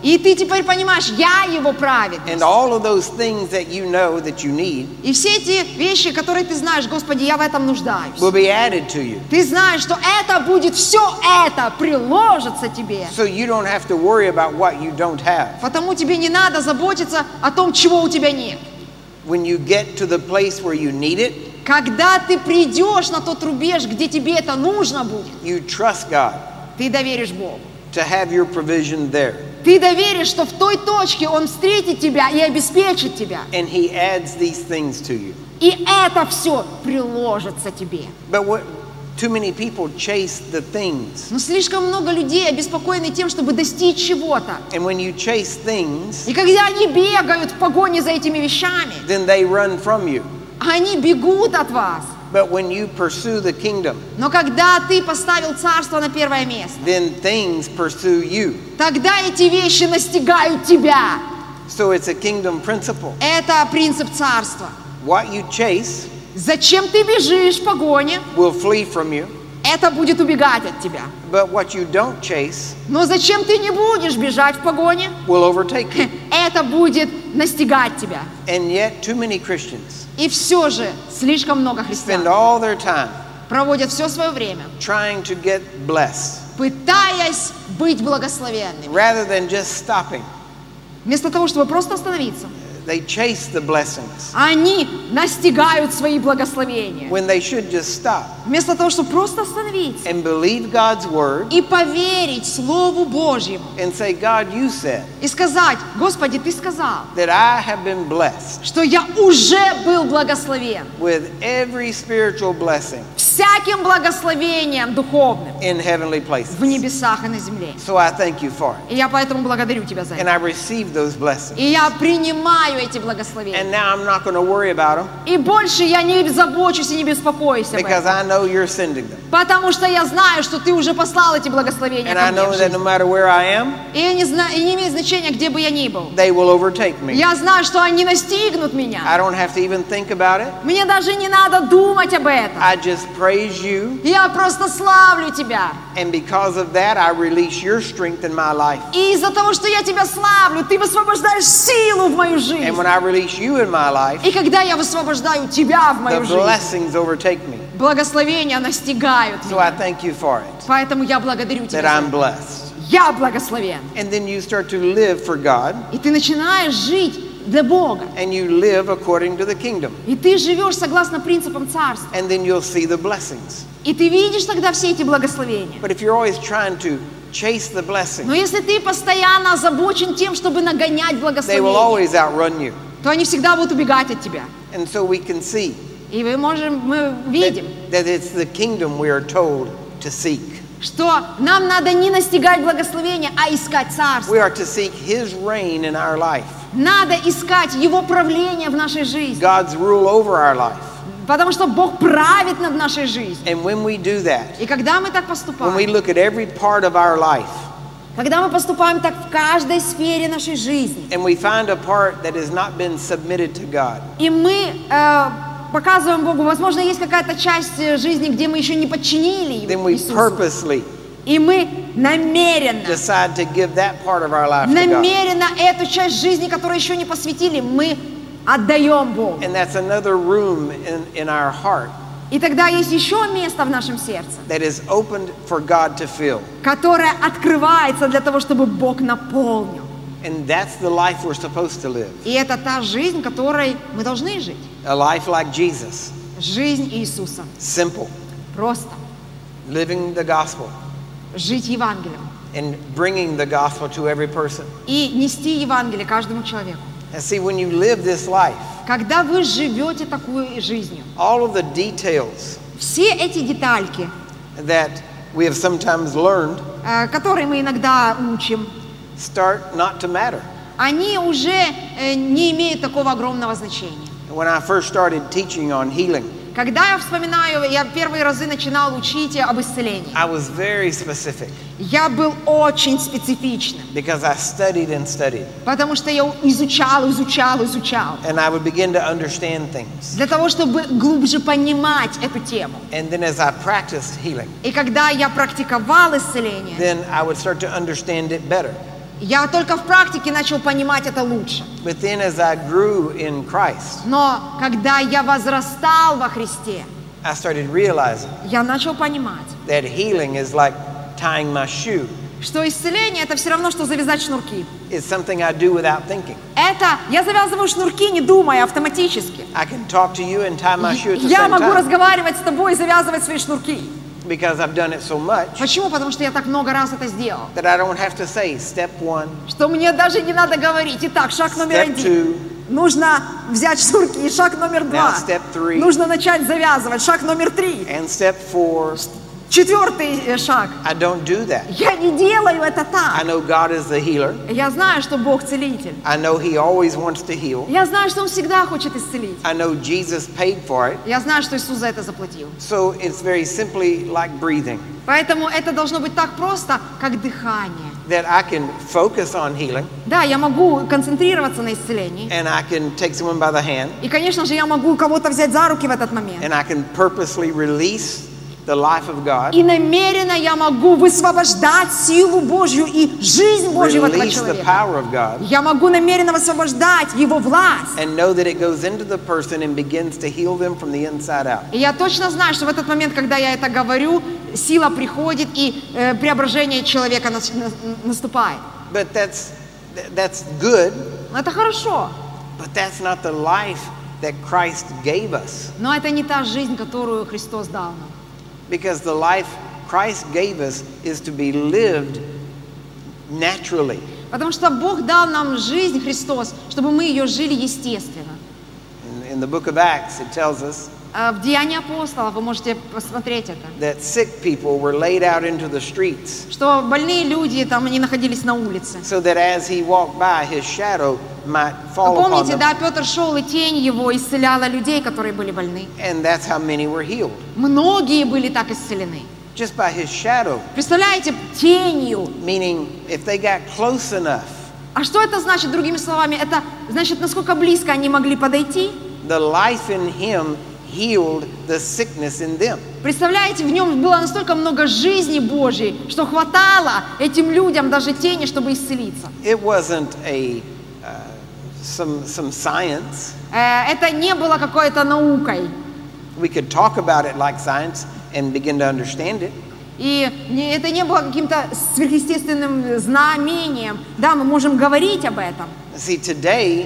S2: И ты теперь понимаешь, я его праведность.
S1: And all of those things that you know that you need
S2: И все эти вещи, которые ты знаешь, Господи, я в этом нуждаюсь.
S1: will be added to you.
S2: Ты знаешь, что это будет, все это приложится тебе.
S1: So you don't have to worry about what you don't have.
S2: Потому тебе не надо заботиться о том, чего у тебя нет.
S1: When you get to the place where you need it,
S2: Когда ты придешь на тот рубеж, где тебе это нужно будет,
S1: you trust God
S2: ты доверишь Богу.
S1: to have your provision there.
S2: Ты доверишь, что в той точке Он встретит тебя и обеспечит тебя.
S1: And He adds these things to you.
S2: И это все приложится тебе.
S1: But what too many people chase the things.
S2: Но слишком много людей обеспокоены тем, чтобы достичь чего-то.
S1: And when you chase things,
S2: И когда они бегают в погоне за этими вещами,
S1: then they run from you.
S2: они бегут от вас.
S1: But when you pursue the kingdom,
S2: Но когда ты поставил царство на первое место,
S1: then things pursue you.
S2: тогда эти вещи настигают тебя.
S1: So it's a kingdom principle.
S2: Это принцип царства.
S1: What you chase
S2: Зачем ты бежишь в погоне?
S1: will flee from you.
S2: Это будет убегать от тебя.
S1: But what you don't chase
S2: Но зачем ты не будешь бежать в погоне?
S1: will overtake you.
S2: Это будет настигать тебя.
S1: And yet too many Christians
S2: И все же слишком много
S1: spend
S2: христиан
S1: all their time
S2: проводят все свое время,
S1: trying to get blessed
S2: пытаясь быть благословенными.
S1: rather than just stopping.
S2: Вместо того, чтобы просто остановиться,
S1: They chase the blessings
S2: они настигают свои благословения.
S1: when they should just stop
S2: Вместо того, чтобы просто остановиться
S1: and believe God's word
S2: и поверить Слову Божьему.
S1: and say, God, you said
S2: И сказать: Господи, Ты сказал,
S1: that I have been blessed
S2: что я уже был благословен
S1: with every spiritual blessing
S2: всяким благословением духовным
S1: in heavenly
S2: в
S1: places.
S2: небесах и на земле.
S1: So I thank you for it.
S2: И я поэтому благодарю Тебя за
S1: And
S2: это.
S1: I receive those blessings.
S2: И я принимаю эти благословения.
S1: And now I'm not going to worry about them
S2: И больше я не забочусь и не беспокоюсь об
S1: because
S2: этом.
S1: I know you're sending them.
S2: Потому что я знаю, что Ты уже послал эти благословения
S1: And
S2: ко
S1: I
S2: мне в
S1: know that no
S2: жизнь.
S1: matter where I am,
S2: И, я не знаю, и не имеет значения, где бы я ни был.
S1: they will overtake me.
S2: Я знаю, что они настигнут меня.
S1: I don't have to even think about it.
S2: Мне даже не надо думать об этом.
S1: I just praise you.
S2: Я просто славлю Тебя.
S1: And because of that, I release your strength in my life.
S2: И из-за того, что я Тебя славлю, Ты высвобождаешь силу в мою жизнь.
S1: And when I release you in my life,
S2: И когда я высвобождаю Тебя в
S1: the
S2: мою жизнь,
S1: blessings overtake me.
S2: благословения настигают
S1: So I
S2: меня.
S1: thank you for it,
S2: Поэтому я благодарю
S1: that
S2: Тебя за
S1: I'm
S2: это.
S1: blessed.
S2: Я благословен.
S1: And then you start to live for God,
S2: И ты начинаешь жить для Бога.
S1: and you live according to the kingdom.
S2: И ты живешь согласно принципам царства.
S1: And then you'll see the blessings.
S2: И ты видишь тогда все эти благословения.
S1: But if you're always trying to chase the
S2: Но
S1: blessing,
S2: если ты постоянно озабочен тем, чтобы нагонять
S1: they will
S2: благословения,
S1: always outrun you.
S2: то они всегда будут убегать от тебя.
S1: And so we can see
S2: И мы можем, мы видим,
S1: that, that it's the kingdom we are told to seek.
S2: что нам надо не настигать благословения, а искать царство.
S1: We are to seek His reign in our life,
S2: Надо искать Его правление в нашей жизни.
S1: God's rule over our life.
S2: Потому что Бог правит над нашей жизнью.
S1: And when we do that,
S2: И когда мы так
S1: when we
S2: поступаем,
S1: look at every part of our life,
S2: когда мы поступаем так в каждой сфере нашей жизни,
S1: and we find a part that has not been submitted to God,
S2: и мы э, показываем Богу, возможно, есть какая-то часть э, жизни, где мы еще не подчинили
S1: then we
S2: Иисусу,
S1: purposely
S2: и мы намеренно,
S1: decide to give that part of our life to God.
S2: намеренно эту часть жизни, которую еще не посвятили, мы отдаем Богу.
S1: And that's another room in, in our heart
S2: И тогда есть еще место в нашем сердце,
S1: that is opened for God to fill.
S2: которое открывается для того, чтобы Бог наполнил.
S1: And that's the life we're supposed to live.
S2: И это та жизнь, которой мы должны жить.
S1: A life like Jesus.
S2: Жизнь Иисуса.
S1: Simple.
S2: Просто
S1: Living the gospel
S2: жить Евангелием.
S1: and bringing the gospel to every person.
S2: И нести Евангелие каждому человеку.
S1: And see, when you live this life,
S2: Когда вы живете такой жизнью,
S1: all of the details
S2: все эти детальки,
S1: that we have sometimes learned
S2: э, которые мы иногда учим,
S1: start not to matter.
S2: они уже э, не имеют такого огромного значения.
S1: When I first started teaching on healing,
S2: Когда я вспоминаю, я первые разы начинал учить об исцелении,
S1: I was very specific
S2: я был очень специфичным,
S1: because I studied and studied.
S2: потому что я изучал, изучал, изучал,
S1: And I would begin to understand things.
S2: для того, чтобы глубже понимать эту тему.
S1: And then as I practiced healing,
S2: И когда я практиковал исцеление,
S1: then I would start to understand it better.
S2: Я только в практике начал понимать это лучше.
S1: But then as I grew in Christ,
S2: Но когда я возрастал во Христе,
S1: I started realizing
S2: я начал понимать,
S1: that healing is like tying my shoe.
S2: что исцеление — это все равно, что завязать шнурки.
S1: It's something I do without thinking.
S2: Это я завязываю шнурки, не думая, автоматически.
S1: I can talk to you and tie my shoe at the
S2: Я
S1: same
S2: могу
S1: time
S2: разговаривать с тобой и завязывать свои шнурки.
S1: because I've done it so much
S2: Почему? Потому что я так много раз это сделал.
S1: that I don't have to say step one,
S2: Что мне даже не надо говорить. Итак, шаг номер
S1: step
S2: один.
S1: two,
S2: Нужно взять шнурки. Шаг номер два.
S1: now step three,
S2: Нужно начать завязывать. Шаг номер три.
S1: and step four.
S2: Четвертый э, шаг.
S1: I don't do that.
S2: Я не делаю это
S1: I
S2: так.
S1: know God is the healer.
S2: Я знаю, что Бог целитель.
S1: I know He always wants to heal.
S2: Я знаю, что Он всегда хочет исцелить.
S1: I know Jesus paid for it.
S2: Я знаю, что Иисус за это заплатил.
S1: So it's very simply like breathing,
S2: Поэтому это должно быть так просто, как дыхание.
S1: that I can focus on healing
S2: Да, я могу концентрироваться на исцелении.
S1: and I can take someone by the hand
S2: И, конечно же, я могу кого-то взять за руки в этот момент.
S1: and I can purposely release the life of God,
S2: И намеренно я могу высвобождать силу Божью и жизнь Божью в этого
S1: release the
S2: человека.
S1: power of God,
S2: Я могу намеренно высвобождать Его власть.
S1: and know that it goes into the person and begins to heal them from the inside out.
S2: И я точно знаю, что в этот момент, когда я это говорю, сила приходит и э, преображение человека нас- на- наступает.
S1: But that's that's good,
S2: Это хорошо,
S1: but that's not the life that Christ gave us.
S2: но это не та жизнь, которую Христос дал нам.
S1: Because the life Christ gave us is to be lived naturally.
S2: Потому что Бог дал нам жизнь, Христос, чтобы мы ее жили естественно.
S1: In, in the book of Acts, it tells us
S2: А в Деянии апостолов вы можете посмотреть это,
S1: that sick people were laid out into the streets,
S2: что больные люди, там они находились на улице.
S1: so that as he walked by, his shadow might fall upon
S2: Помните,
S1: them.
S2: да, Петр шел, и тень его исцеляла людей, которые были больны.
S1: And that's how many were healed.
S2: Многие были так исцелены.
S1: Just by his shadow.
S2: Представляете, тенью.
S1: Meaning, if they got close enough,
S2: А что это значит, другими словами? Это значит, насколько близко они могли подойти.
S1: the life in him healed the sickness in them.
S2: Представляете, в нем было настолько много жизни Божьей, что хватало этим людям даже тени, чтобы исцелиться.
S1: It wasn't a uh, some some science.
S2: Э, Это не было какой-то наукой.
S1: We could talk about it like science and begin to understand it.
S2: И не- это не было каким-то сверхъестественным знамением. Да, мы можем говорить об этом.
S1: See, today,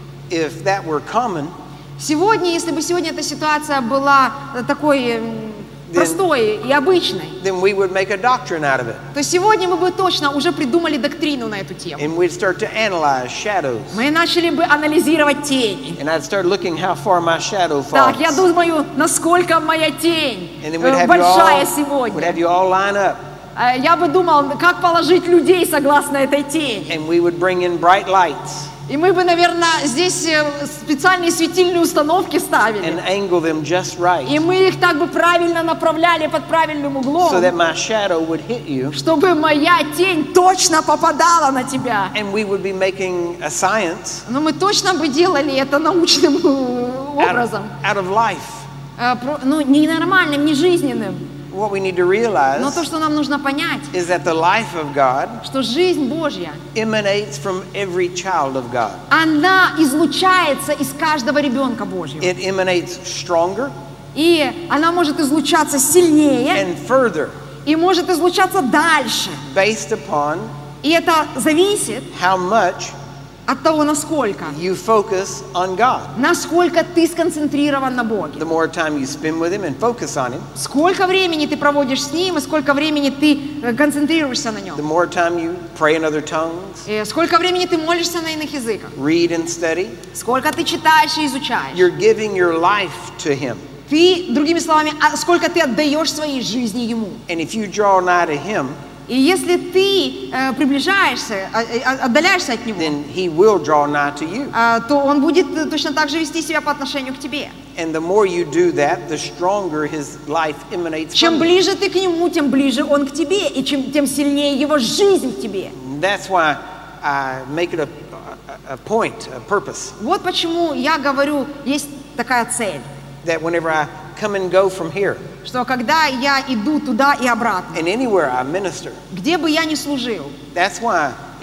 S1: if that were common,
S2: Сегодня, если бы сегодня эта ситуация была э, такой м, простой и обычной,
S1: then we would make a doctrine out of it.
S2: то сегодня мы бы точно уже придумали доктрину на эту тему.
S1: And we'd start to analyze shadows.
S2: Мы начали бы анализировать тени.
S1: And I'd start looking how far my shadow falls.
S2: Так, я думаю, насколько моя тень
S1: And then we'd
S2: э,
S1: have, you
S2: большая
S1: all, we'd
S2: сегодня.
S1: have you all line up.
S2: Э, Я бы думал, как положить людей согласно этой тени.
S1: And we would bring in bright lights
S2: И мы бы, наверное, здесь э, специальные светильные установки ставили.
S1: and angle them just right
S2: И мы их так бы правильно направляли под правильным углом,
S1: so that my shadow would hit you.
S2: чтобы моя тень точно попадала на тебя.
S1: And we would be making a science
S2: Но мы точно бы делали это научным э,
S1: out of,
S2: образом.
S1: out of life.
S2: Э, про- Ну, не нормальным, не жизненным.
S1: What we need to
S2: Но
S1: realize
S2: то, что нам нужно понять,
S1: is that the life of God
S2: что жизнь Божья,
S1: emanates from every child of God.
S2: она излучается из каждого ребенка Божьего.
S1: It emanates stronger
S2: И она может излучаться сильнее,
S1: and further
S2: и может излучаться дальше.
S1: based upon
S2: И это зависит
S1: how much
S2: от того, насколько.
S1: you focus on God.
S2: Насколько ты сконцентрирован на Боге.
S1: The more time you spend with Him and focus on Him,
S2: Сколько времени ты проводишь с Ним, и сколько времени ты э, концентрируешься на
S1: the
S2: Нем.
S1: more time you pray in other tongues,
S2: И сколько времени ты молишься на иных языках.
S1: read and study,
S2: Сколько ты читаешь и изучаешь.
S1: you're giving your life to Him.
S2: Ты, другими словами, а сколько ты отдаешь своей жизни Ему.
S1: And if you draw nigh to Him,
S2: И если ты э, приближаешься, а- а- отдаляешься от Него,
S1: then He will draw nigh to you.
S2: а, то Он будет э, точно так же вести себя по отношению к тебе.
S1: And the more you do that, the stronger His life emanates
S2: Чем
S1: from you.
S2: ближе ты к Нему, тем ближе Он к тебе, и чем, тем сильнее Его жизнь в тебе.
S1: That's why I make it a, a, a point, a purpose,
S2: Вот почему я говорю, есть такая цель,
S1: that whenever I come and go from here,
S2: что когда я иду туда и обратно,
S1: and anywhere I minister,
S2: где бы я ни служил,
S1: that's why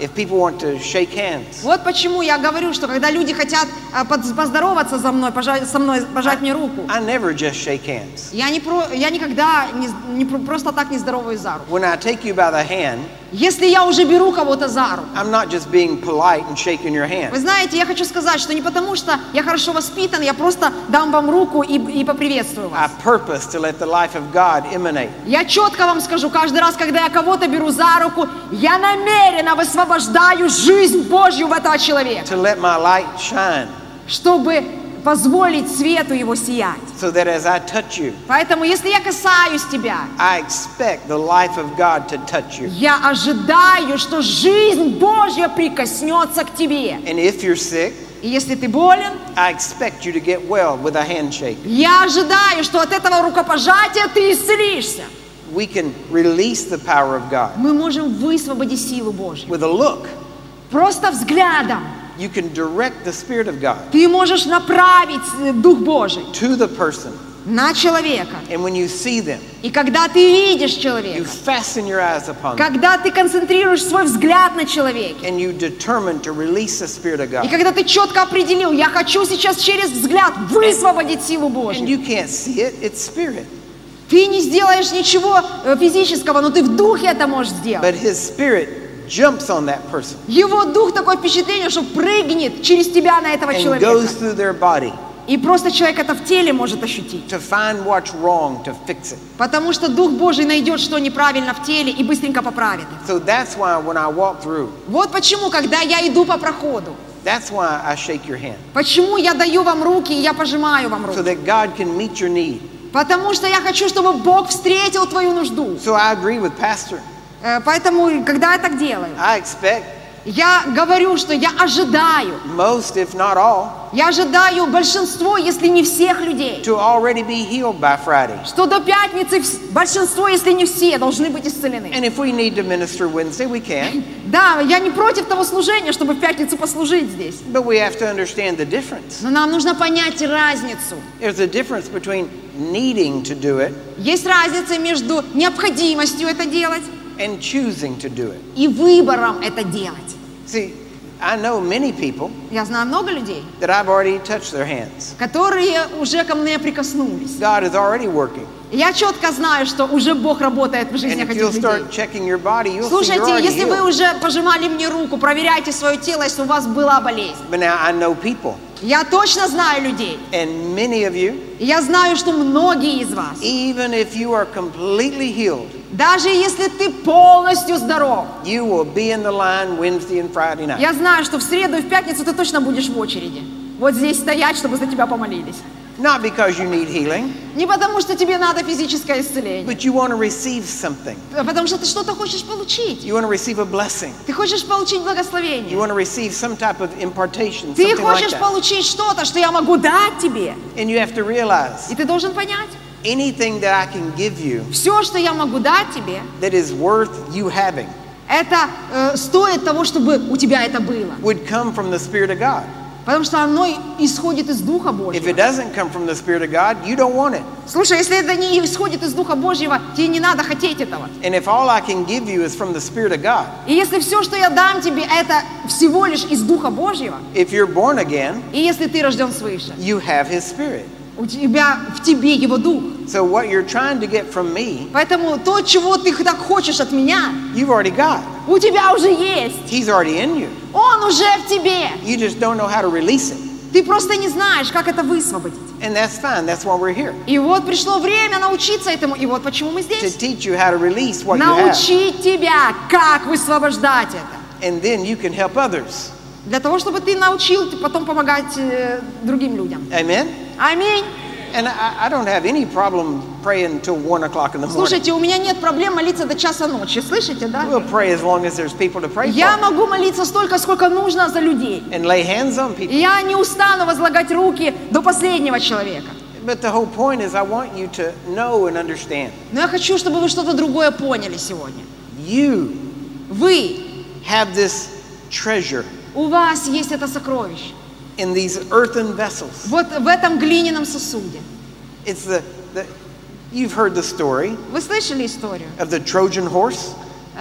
S1: if people want to shake hands,
S2: Вот почему я говорю, что когда люди хотят а, под- поздороваться за мной, пожать, со мной, пожать мне руку,
S1: I never just shake hands.
S2: я, не про, я никогда не, не про- просто так не здороваюсь за руку.
S1: When I take you by the hand,
S2: Если я уже беру кого-то за руку,
S1: I'm not just being polite and shaking your
S2: вы
S1: hand.
S2: знаете, я хочу сказать, что не потому, что я хорошо воспитан, я просто дам вам руку и, и поприветствую
S1: I
S2: вас.
S1: purpose to let the life of God emanate.
S2: Я четко вам скажу, каждый раз, когда я кого-то беру за руку, я намеренно высвобождаю жизнь Божью в этого человека,
S1: To let my light shine,
S2: чтобы позволить свету его сиять.
S1: so that as I touch you,
S2: Поэтому, если я касаюсь тебя,
S1: I expect the life of God to touch you.
S2: я ожидаю, что жизнь Божья прикоснется к тебе.
S1: And if you're sick,
S2: И если ты болен,
S1: I expect you to get well with a handshake.
S2: я ожидаю, что от этого рукопожатия ты исцелишься.
S1: We can release the power of God
S2: Мы можем высвободить силу Божью.
S1: with a look.
S2: Просто взглядом
S1: You can direct the Spirit of God
S2: ты можешь направить э, Дух Божий
S1: to the person.
S2: на человека.
S1: And when you see them,
S2: И когда ты видишь
S1: you
S2: человека,
S1: fasten your eyes upon them.
S2: когда ты концентрируешь свой взгляд на человеке,
S1: And you determine to release the Spirit of
S2: и
S1: God.
S2: когда ты четко определил, я хочу сейчас через взгляд высвободить силу
S1: And
S2: Божью,
S1: you can't see it, it's Spirit.
S2: ты не сделаешь ничего э, физического, но ты в духе это можешь сделать.
S1: But His Spirit jumps on that person
S2: Его дух такое впечатление, что прыгнет через тебя на этого
S1: and goes
S2: человека.
S1: through their body
S2: И просто человек это в теле может ощутить.
S1: to find what's wrong, to fix it.
S2: Потому что Дух Божий найдет, что неправильно в теле, и быстренько поправит их.
S1: So that's why when I walk through,
S2: Вот почему, когда я иду по проходу,
S1: that's why I shake your hand.
S2: почему я даю вам руки, и я пожимаю вам
S1: So
S2: руки.
S1: that God can meet your need.
S2: Потому что я хочу, чтобы Бог встретил твою нужду.
S1: So I agree with Pastor.
S2: Э, Поэтому, когда я так делаю,
S1: I expect
S2: я говорю, что я ожидаю,
S1: most, if not all,
S2: я ожидаю большинство, если не всех людей,
S1: to already be healed by Friday.
S2: что до пятницы вс- большинство, если не все, должны быть исцелены.
S1: And if we need to minister Wednesday, we can.
S2: Да, я не против того служения, чтобы в пятницу послужить здесь.
S1: But we have to understand the difference.
S2: Но нам нужно понять разницу.
S1: There's a difference between needing to do it
S2: Есть разница между необходимостью это делать
S1: and choosing to do it.
S2: и выбором это делать.
S1: See, I know many people
S2: Я знаю много людей,
S1: that I've already touched their hands.
S2: которые уже ко мне прикоснулись.
S1: God is already working.
S2: Я четко знаю, что уже Бог работает в
S1: And
S2: жизнях
S1: if
S2: этих
S1: you'll
S2: людей.
S1: start checking your body, you'll see you're
S2: Слушайте,
S1: already
S2: если вы
S1: healed.
S2: уже пожимали мне руку, проверяйте свое тело, если у вас была болезнь.
S1: But now I know people,
S2: Я точно знаю людей.
S1: and many of you,
S2: И я знаю, что многие из вас,
S1: even if you are completely healed,
S2: даже если ты полностью здоров,
S1: you will be in the line Wednesday and Friday night.
S2: я знаю, что в среду и в пятницу ты точно будешь в очереди. Вот здесь стоять, чтобы за тебя помолились.
S1: Not because you need healing,
S2: Не потому, что тебе надо физическое исцеление,
S1: but you want to receive something.
S2: а потому что ты что-то хочешь получить.
S1: You want to receive a blessing.
S2: Ты хочешь получить
S1: You
S2: благословение.
S1: want to receive some type of impartation,
S2: Ты
S1: something like
S2: хочешь
S1: that.
S2: получить что-то, что я могу дать тебе.
S1: And you have to realize
S2: И ты должен понять,
S1: anything that I can give you
S2: все, что я могу дать тебе,
S1: that is worth you having
S2: это э, стоит того, чтобы у тебя это было.
S1: would come from the Spirit of God.
S2: Потому что оно исходит из Духа
S1: If
S2: Божьего.
S1: it doesn't come from the Spirit of God, you don't want it.
S2: Слушай, если это не исходит из Духа Божьего, тебе не надо хотеть этого.
S1: And if all I can give you is from the Spirit of God,
S2: И если все, что я дам тебе, это всего лишь из Духа Божьего,
S1: if you're born again,
S2: и если ты рожден свыше,
S1: you have His Spirit.
S2: у тебя, в тебе Его Дух.
S1: So what you're trying to get from me,
S2: Поэтому то, чего ты так хочешь от меня,
S1: you've already got.
S2: у тебя уже есть.
S1: He's already in you.
S2: Он уже в тебе.
S1: You just don't know how to release it.
S2: Ты просто не знаешь, как это высвободить.
S1: And that's fine. That's why we're here.
S2: И вот пришло время научиться этому, и вот почему мы
S1: To
S2: здесь.
S1: teach you how to release what you have.
S2: Научить тебя, как высвобождать это.
S1: And then you can help others.
S2: Для того, чтобы ты научил потом помогать э, другим людям.
S1: Amen?
S2: Аминь.
S1: And I, I don't have any problem praying until one o'clock in the morning.
S2: Слушайте, у меня нет проблем молиться до часа ночи. Слышите, да?
S1: We'll pray as long as there's people to pray
S2: Я
S1: for.
S2: могу молиться столько, сколько нужно за людей.
S1: And lay hands on
S2: И
S1: people.
S2: я не устану возлагать руки до последнего человека.
S1: But the whole point is I want you to know and understand.
S2: Но я хочу, чтобы вы что-то другое поняли сегодня.
S1: You
S2: Вы,
S1: have this treasure
S2: у вас есть это сокровище.
S1: in these earthen vessels.
S2: Вот в этом глиняном сосуде.
S1: It's the, the you've heard the story
S2: Вы слышали историю?
S1: of the Trojan horse.
S2: Э,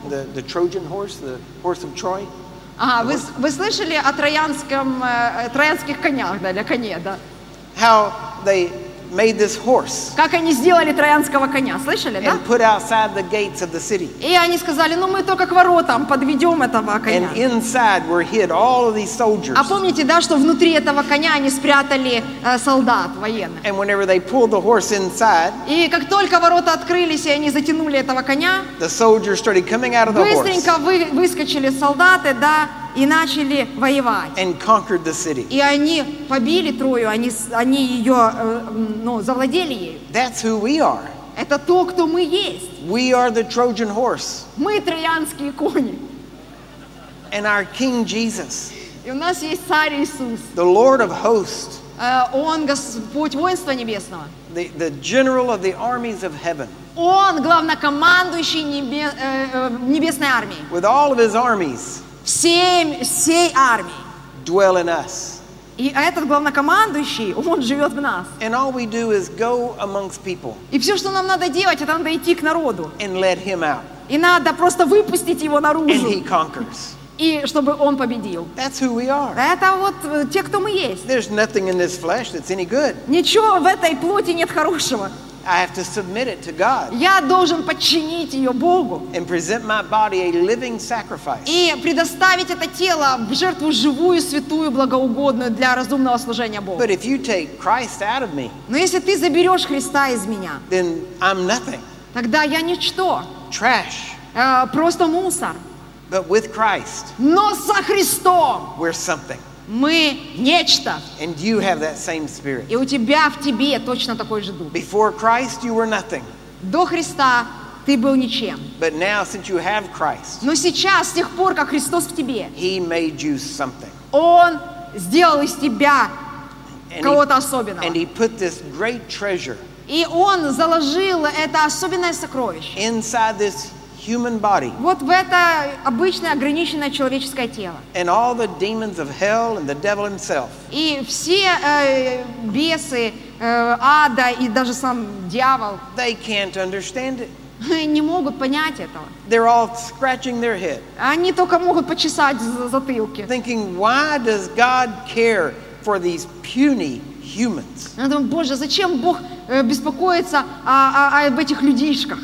S1: the, the Trojan horse, the horse of Troy.
S2: Ага, вы, вы слышали о троянском, э, троянских конях, да, или коне, да?
S1: How they made this horse
S2: Как они сделали троянского коня, слышали, да?
S1: and put outside the gates of the city.
S2: И они сказали, ну мы только к воротам подведем этого коня.
S1: And inside were hid all of these soldiers.
S2: А помните, да, что внутри этого коня они спрятали э, солдат военных.
S1: And whenever they pulled the horse inside,
S2: И как только ворота открылись, и они затянули этого коня,
S1: the soldiers started coming out of the horse
S2: быстренько вы, выскочили солдаты, да, и начали воевать.
S1: and conquered the city.
S2: И они побили Трою, они, с- они ее, э, ну, завладели ею.
S1: That's who we are.
S2: Это то, кто мы есть.
S1: We are the Trojan horse.
S2: Мы троянские кони.
S1: And our King Jesus,
S2: И у нас есть царь Иисус.
S1: the Lord of hosts,
S2: Э, Он Господь воинства небесного.
S1: the, the general of the armies of heaven,
S2: Он главнокомандующий небе- э, э, небесной армии.
S1: with all of his armies,
S2: Всем, всей армии.
S1: dwell in us.
S2: И этот главнокомандующий, он живет в нас.
S1: And all we do is go amongst people
S2: И все, что нам надо делать, это надо идти к народу.
S1: and let him out.
S2: И надо просто выпустить его
S1: And
S2: наружу.
S1: he conquers.
S2: И чтобы он победил.
S1: That's who we are.
S2: Это вот э, те, кто мы есть.
S1: There's nothing in this flesh that's any good.
S2: Ничего в этой плоти нет хорошего.
S1: I have to submit it to God
S2: Я должен подчинить ее Богу
S1: and present my body a living sacrifice.
S2: и предоставить это тело в жертву живую, святую, благоугодную для разумного служения Богу.
S1: But if you take Christ out of me,
S2: Но если ты заберешь Христа из меня,
S1: then I'm nothing.
S2: тогда я ничто,
S1: Trash.
S2: э, просто мусор.
S1: But with Christ,
S2: Но со Христом
S1: we're something.
S2: мы нечто.
S1: And you have that same spirit.
S2: И у тебя в тебе точно такой же дух.
S1: Before Christ, you were nothing.
S2: До Христа ты был ничем.
S1: But now, since you have Christ,
S2: Но сейчас, с тех пор, как Христос в тебе,
S1: he made you something.
S2: Он сделал из тебя
S1: And
S2: кого-то
S1: he,
S2: особенного.
S1: and he put this great treasure
S2: И Он заложил это особенное сокровище
S1: inside this human body.
S2: вот в это обычное ограниченное человеческое тело.
S1: And all the demons of hell and the devil himself,
S2: И все э, бесы э, ада и даже сам дьявол
S1: they can't understand it.
S2: не могут понять этого.
S1: They're all scratching their head,
S2: Они только могут почесать за- затылки.
S1: thinking, why does God care for these puny humans?
S2: Я думаю, Боже, зачем Бог э, беспокоится о- о- об этих людишках?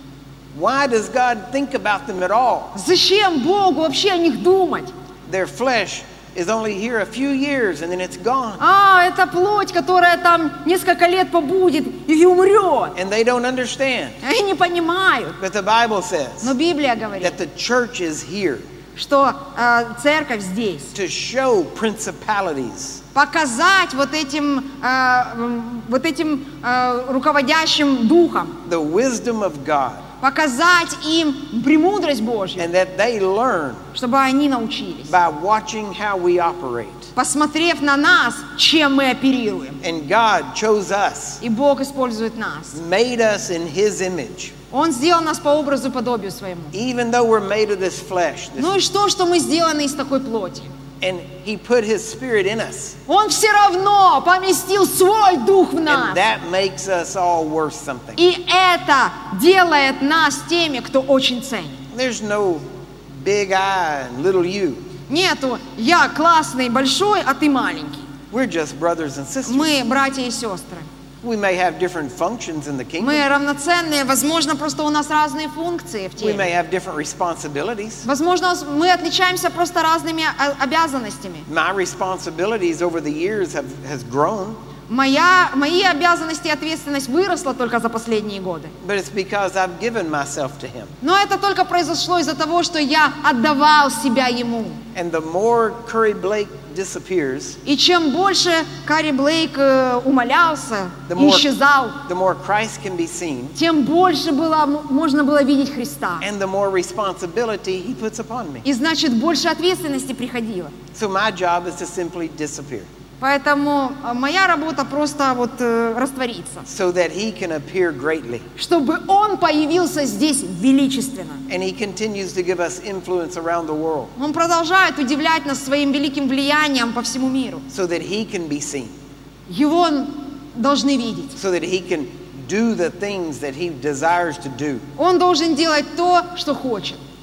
S1: Why does God think about them at all?
S2: Зачем Богу вообще о них думать?
S1: Their flesh is only here a few years and then it's gone.
S2: А, это плоть, которая там несколько лет побудет и умрет.
S1: And they don't understand.
S2: Они не понимают.
S1: But the Bible says
S2: Но Библия говорит,
S1: that the church is here
S2: что э, церковь здесь.
S1: to show principalities,
S2: Показать вот этим, э, м, вот этим э, руководящим духом,
S1: the wisdom of God,
S2: показать им премудрость Божью,
S1: and that they learn
S2: чтобы они научились.
S1: by watching how we operate.
S2: Посмотрев на нас, чем мы оперируем.
S1: And God chose us,
S2: И Бог использует нас.
S1: made us in His image.
S2: Он сделал нас по образу и подобию своему.
S1: Even though we're made of this flesh, this,
S2: Ну и что, что мы сделаны из такой плоти?
S1: and He put His Spirit in us.
S2: Он все равно поместил свой дух в нас.
S1: And that makes us all worth something.
S2: И это делает нас теми, кто очень ценит.
S1: There's no big I and little you.
S2: Нету «я классный, большой, а ты маленький».
S1: We're just brothers and sisters.
S2: Мы братья и сестры.
S1: We may have different functions in the kingdom.
S2: Мы равноценные. Возможно, просто у нас разные функции в
S1: We may
S2: теле.
S1: have different responsibilities.
S2: Возможно, мы отличаемся просто разными о- обязанностями.
S1: My responsibilities over the years have has grown,
S2: Моя, мои обязанности и ответственность выросла только за последние годы.
S1: but it's because I've given myself to Him.
S2: Но это только произошло из-за того, что я отдавал себя Ему.
S1: And the more Curry Blake disappears,
S2: И чем больше Карри Блейк э, умолялся,
S1: the more,
S2: исчезал,
S1: the more Christ can be seen,
S2: тем больше было, м- можно было видеть Христа.
S1: and the more responsibility He puts upon me.
S2: И значит, больше ответственности приходило.
S1: So my job is to simply disappear,
S2: Поэтому э, моя работа просто вот э, раствориться,
S1: so that He can appear greatly.
S2: чтобы Он появился здесь величественно.
S1: And He continues to give us influence around the world,
S2: Он продолжает удивлять нас своим великим влиянием по всему миру.
S1: so that He can be seen,
S2: Его должны видеть.
S1: so that He can do the things that He desires to do.
S2: Он должен делать то, что хочет.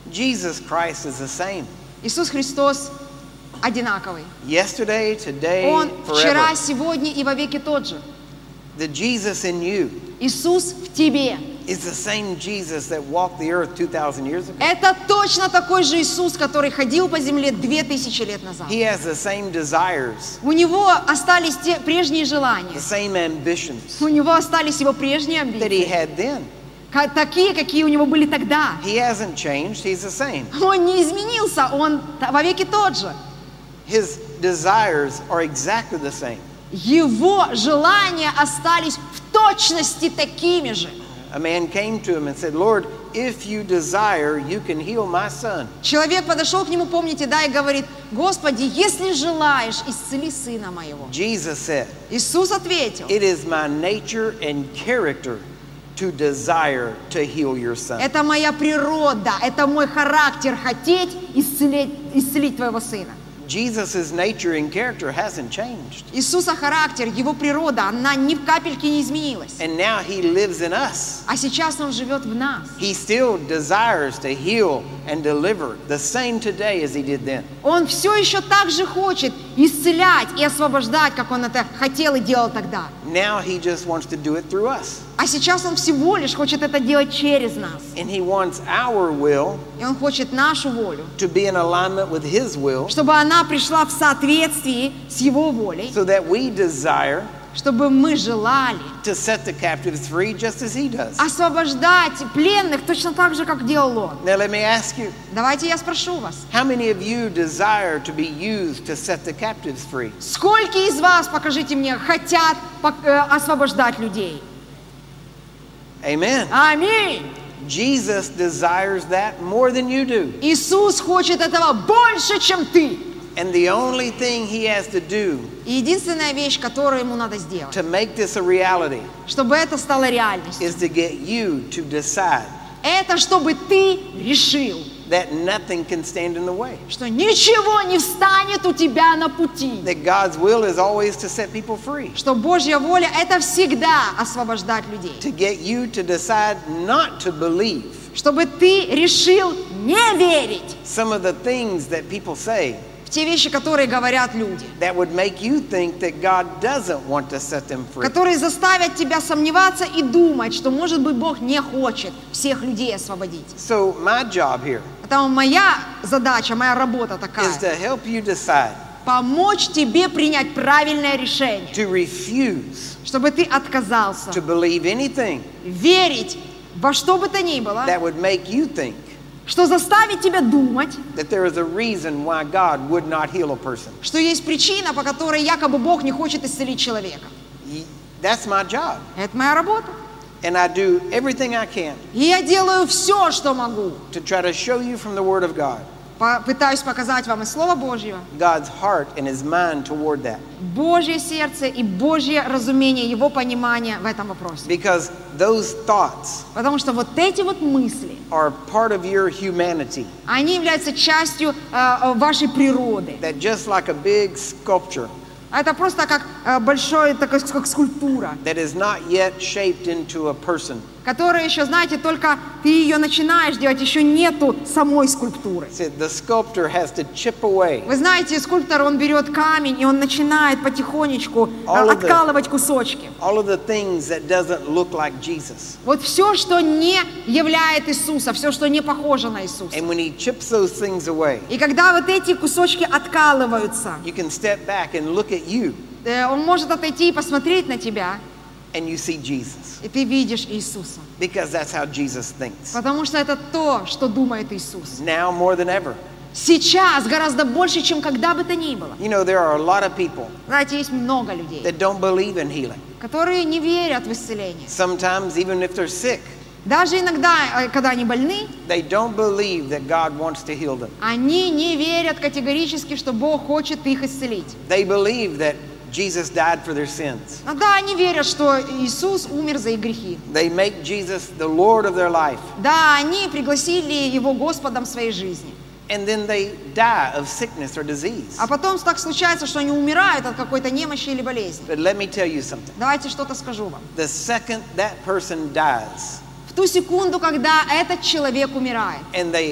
S1: Jesus Christ is the same.
S2: Иисус Христос одинаковый.
S1: Yesterday, today,
S2: Он вчера,
S1: forever.
S2: сегодня и вовеки тот же.
S1: The Jesus in you
S2: Иисус в тебе.
S1: is the same Jesus that walked the earth two thousand years ago.
S2: Это точно такой же Иисус, который ходил по земле две тысячи лет назад.
S1: He has the same desires,
S2: У него остались те прежние
S1: the
S2: желания.
S1: same ambitions
S2: У него остались его прежние
S1: that he
S2: амбиции.
S1: had then.
S2: Ка- Такие, какие у него были тогда.
S1: He hasn't changed, he's the same.
S2: Он не изменился, он т- вовеки тот же.
S1: His desires are exactly the same.
S2: Его желания остались в точности такими же.
S1: A man came to him and said, Lord, if you desire, you can heal my son.
S2: Человек подошел к нему, помните, да, и говорит: Господи, если желаешь, исцели сына моего.
S1: Jesus said,
S2: Иисус ответил:
S1: it is my nature and character to desire to heal your son.
S2: это моя природа, это мой характер хотеть исцелить, исцелить твоего сына.
S1: Jesus' nature and character hasn't changed.
S2: Иисуса характер, его природа, она ни в капельке не изменилась.
S1: And now he lives in us.
S2: А сейчас он живет в нас.
S1: He still desires to heal and deliver the same today as he did then.
S2: Он все еще так же хочет исцелять и освобождать, как он это хотел и делал тогда.
S1: Now he just wants to do it through us.
S2: А сейчас он всего лишь хочет это делать через нас.
S1: And he wants our will
S2: И он хочет нашу волю,
S1: to be in alignment with his will
S2: чтобы она пришла в соответствии с его волей,
S1: so that we desire
S2: чтобы мы желали
S1: to set the captives free just as he does.
S2: освобождать пленных точно так же, как делал он.
S1: Now let me ask you,
S2: Давайте я спрошу вас.
S1: how many of you desire to be used to set the captives free?
S2: Сколько из вас, покажите мне, хотят пок- э, освобождать людей?
S1: Amen.
S2: Аминь.
S1: Jesus desires that more than you do.
S2: Иисус хочет этого больше, чем ты.
S1: And the only thing he has to do
S2: И единственная вещь, которую ему надо сделать,
S1: to make this a reality
S2: чтобы это стало реальностью,
S1: is to get you to decide
S2: это чтобы ты решил,
S1: that nothing can stand in the way.
S2: что ничего не встанет у тебя на пути.
S1: That God's will is always to set people free.
S2: Что Божья воля – это всегда освобождать людей.
S1: To get you to decide not to believe
S2: Чтобы ты решил не верить
S1: some of the things that people say
S2: в те вещи, которые говорят люди,
S1: that would make you think that God doesn't want to set them free.
S2: которые заставят тебя сомневаться и думать, что, может быть, Бог не хочет всех людей освободить.
S1: So my job here
S2: Поэтому моя задача, моя работа
S1: is
S2: такая
S1: to help you decide
S2: – помочь тебе принять правильное решение,
S1: to refuse
S2: чтобы ты отказался
S1: to believe anything
S2: верить во что бы то ни было,
S1: that would make you think
S2: что заставит тебя думать,
S1: that there is a reason why God would not heal a person.
S2: что есть причина, по которой якобы Бог не хочет исцелить человека.
S1: Y- That's my job.
S2: Это моя работа.
S1: And I do everything I can
S2: И я делаю все, что могу.
S1: to try to show you from the Word of God
S2: По- Пытаюсь показать вам из Слова Божьего
S1: God's heart and His mind toward that.
S2: Божье сердце и Божье разумение, Его понимание в этом вопросе.
S1: Because those thoughts
S2: Потому что вот эти вот мысли,
S1: are part of your humanity.
S2: они являются частью э, вашей природы.
S1: That just like a big sculpture
S2: Это просто как э, большой, такой, как скульптура,
S1: that is not yet shaped into a person.
S2: которая еще, знаете, только ты ее начинаешь делать, еще нету самой скульптуры.
S1: See, the sculptor has to chip away
S2: Вы знаете, скульптор, он берет камень, и он начинает потихонечку э,
S1: All of the-
S2: откалывать кусочки.
S1: all of the things that doesn't look like Jesus.
S2: Вот все, что не являет Иисуса, все, что не похоже на Иисуса.
S1: And when He chips those things away,
S2: И когда вот эти кусочки откалываются,
S1: you can step back and look at you
S2: э, он может отойти и посмотреть на тебя,
S1: and you see Jesus.
S2: и ты видишь Иисуса.
S1: Because that's how Jesus thinks.
S2: Потому что это то, что думает Иисус.
S1: Now more than ever.
S2: Сейчас гораздо больше, чем когда бы то ни было.
S1: You know, there are a lot of people
S2: Знаете, есть много людей,
S1: that don't believe in healing.
S2: которые не верят в исцеление.
S1: Sometimes, even if they're sick,
S2: Даже иногда, э, когда они больны,
S1: they don't believe that God wants to heal them.
S2: они не верят категорически, что Бог хочет их исцелить.
S1: They believe that Jesus died for their sins.
S2: Но да, они верят, что Иисус умер за их грехи.
S1: They make Jesus the Lord of their life.
S2: Да, они пригласили Его Господом своей жизни.
S1: And then they die of sickness or disease.
S2: А потом так случается, что они умирают от какой-то немощи или болезни.
S1: But let me tell you something.
S2: Давайте что-то скажу вам.
S1: The second that person dies
S2: В ту секунду, когда этот человек умирает,
S1: and they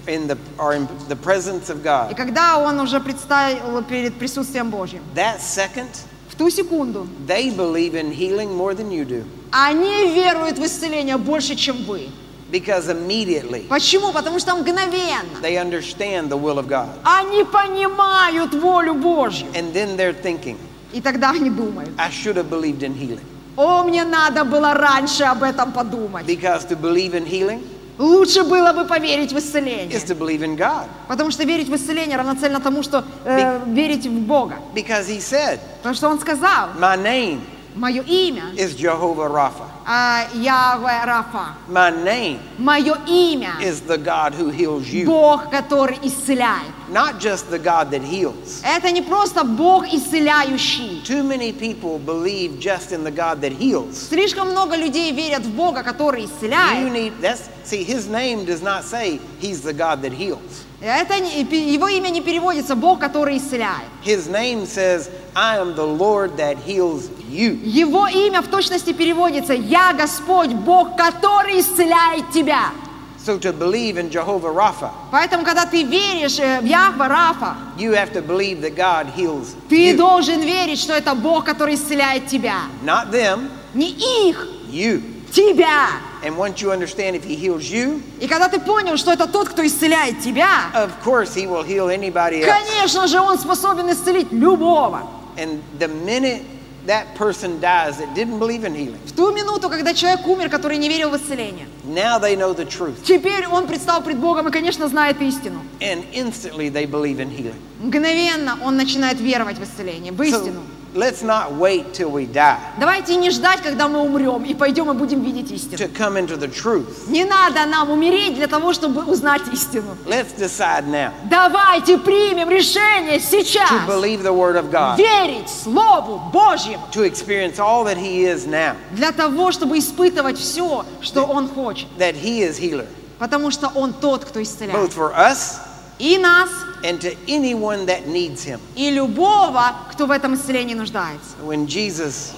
S1: in the, are in the presence of
S2: И
S1: God,
S2: когда он уже предстал перед присутствием Божьим,
S1: that second,
S2: в ту секунду
S1: they believe in healing more than you do.
S2: они веруют в исцеление больше, чем вы.
S1: Because immediately
S2: Почему? Потому что мгновенно
S1: they understand the will of God.
S2: они понимают волю Божью.
S1: And then they're thinking,
S2: И тогда они думают:
S1: I should have believed in healing.
S2: о, мне надо было раньше об этом подумать.
S1: Because to believe in healing
S2: Лучше было бы поверить в исцеление.
S1: is to believe in God.
S2: Потому что верить в исцеление равноценно тому, что э, верить в Бога.
S1: Because he said,
S2: Потому что он сказал:
S1: my name
S2: мое имя
S1: is Jehovah Rapha.
S2: э, Яхве Рафа.
S1: My name
S2: Мое имя
S1: is the God who heals you.
S2: Бог, который исцеляет.
S1: Not just the God that heals.
S2: Это не просто Бог исцеляющий.
S1: Too many people believe just in the God that heals.
S2: Слишком много людей верят в Бога, который
S1: You
S2: исцеляет.
S1: need, that's, see, his name does not say he's the God that heals.
S2: Это, не- его имя не переводится Бог, который исцеляет.
S1: His name says, I am the Lord that heals you.
S2: Его имя в точности переводится: «Я Господь, Бог, который исцеляет тебя».
S1: So to believe in Jehovah Rapha,
S2: Поэтому, когда ты веришь э, в Яхве Рафа,
S1: you have to believe that God heals
S2: ты
S1: you.
S2: должен верить, что это Бог, который исцеляет тебя.
S1: Not them,
S2: Не их,
S1: you.
S2: тебя.
S1: And once you understand if he heals you,
S2: И когда ты понял, что это тот, кто исцеляет тебя,
S1: of course he will heal anybody else.
S2: конечно же, он способен исцелить любого.
S1: And the minute that person dies that didn't believe in healing,
S2: В ту минуту, когда человек умер, который не верил в исцеление,
S1: now they know the truth.
S2: теперь он предстал пред Богом и, конечно, знает истину.
S1: And instantly they believe in healing.
S2: Мгновенно он начинает веровать в исцеление, в истину.
S1: So let's not wait till we die
S2: Давайте не ждать, когда мы умрем, и пойдем и будем видеть истину.
S1: to come into the truth.
S2: Не надо нам умереть для того, чтобы узнать истину.
S1: Let's decide now
S2: Давайте примем решение сейчас
S1: to believe the word of God,
S2: верить Слову Божьему,
S1: to experience all that he is now,
S2: для того, чтобы испытывать все, что Он хочет.
S1: that he is healer,
S2: Потому что Он тот, кто исцеляет.
S1: both for us
S2: И нас,
S1: and to anyone that needs him.
S2: и любого, кто в этом исцелении нуждается.
S1: When Jesus,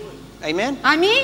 S1: amen?
S2: Аминь.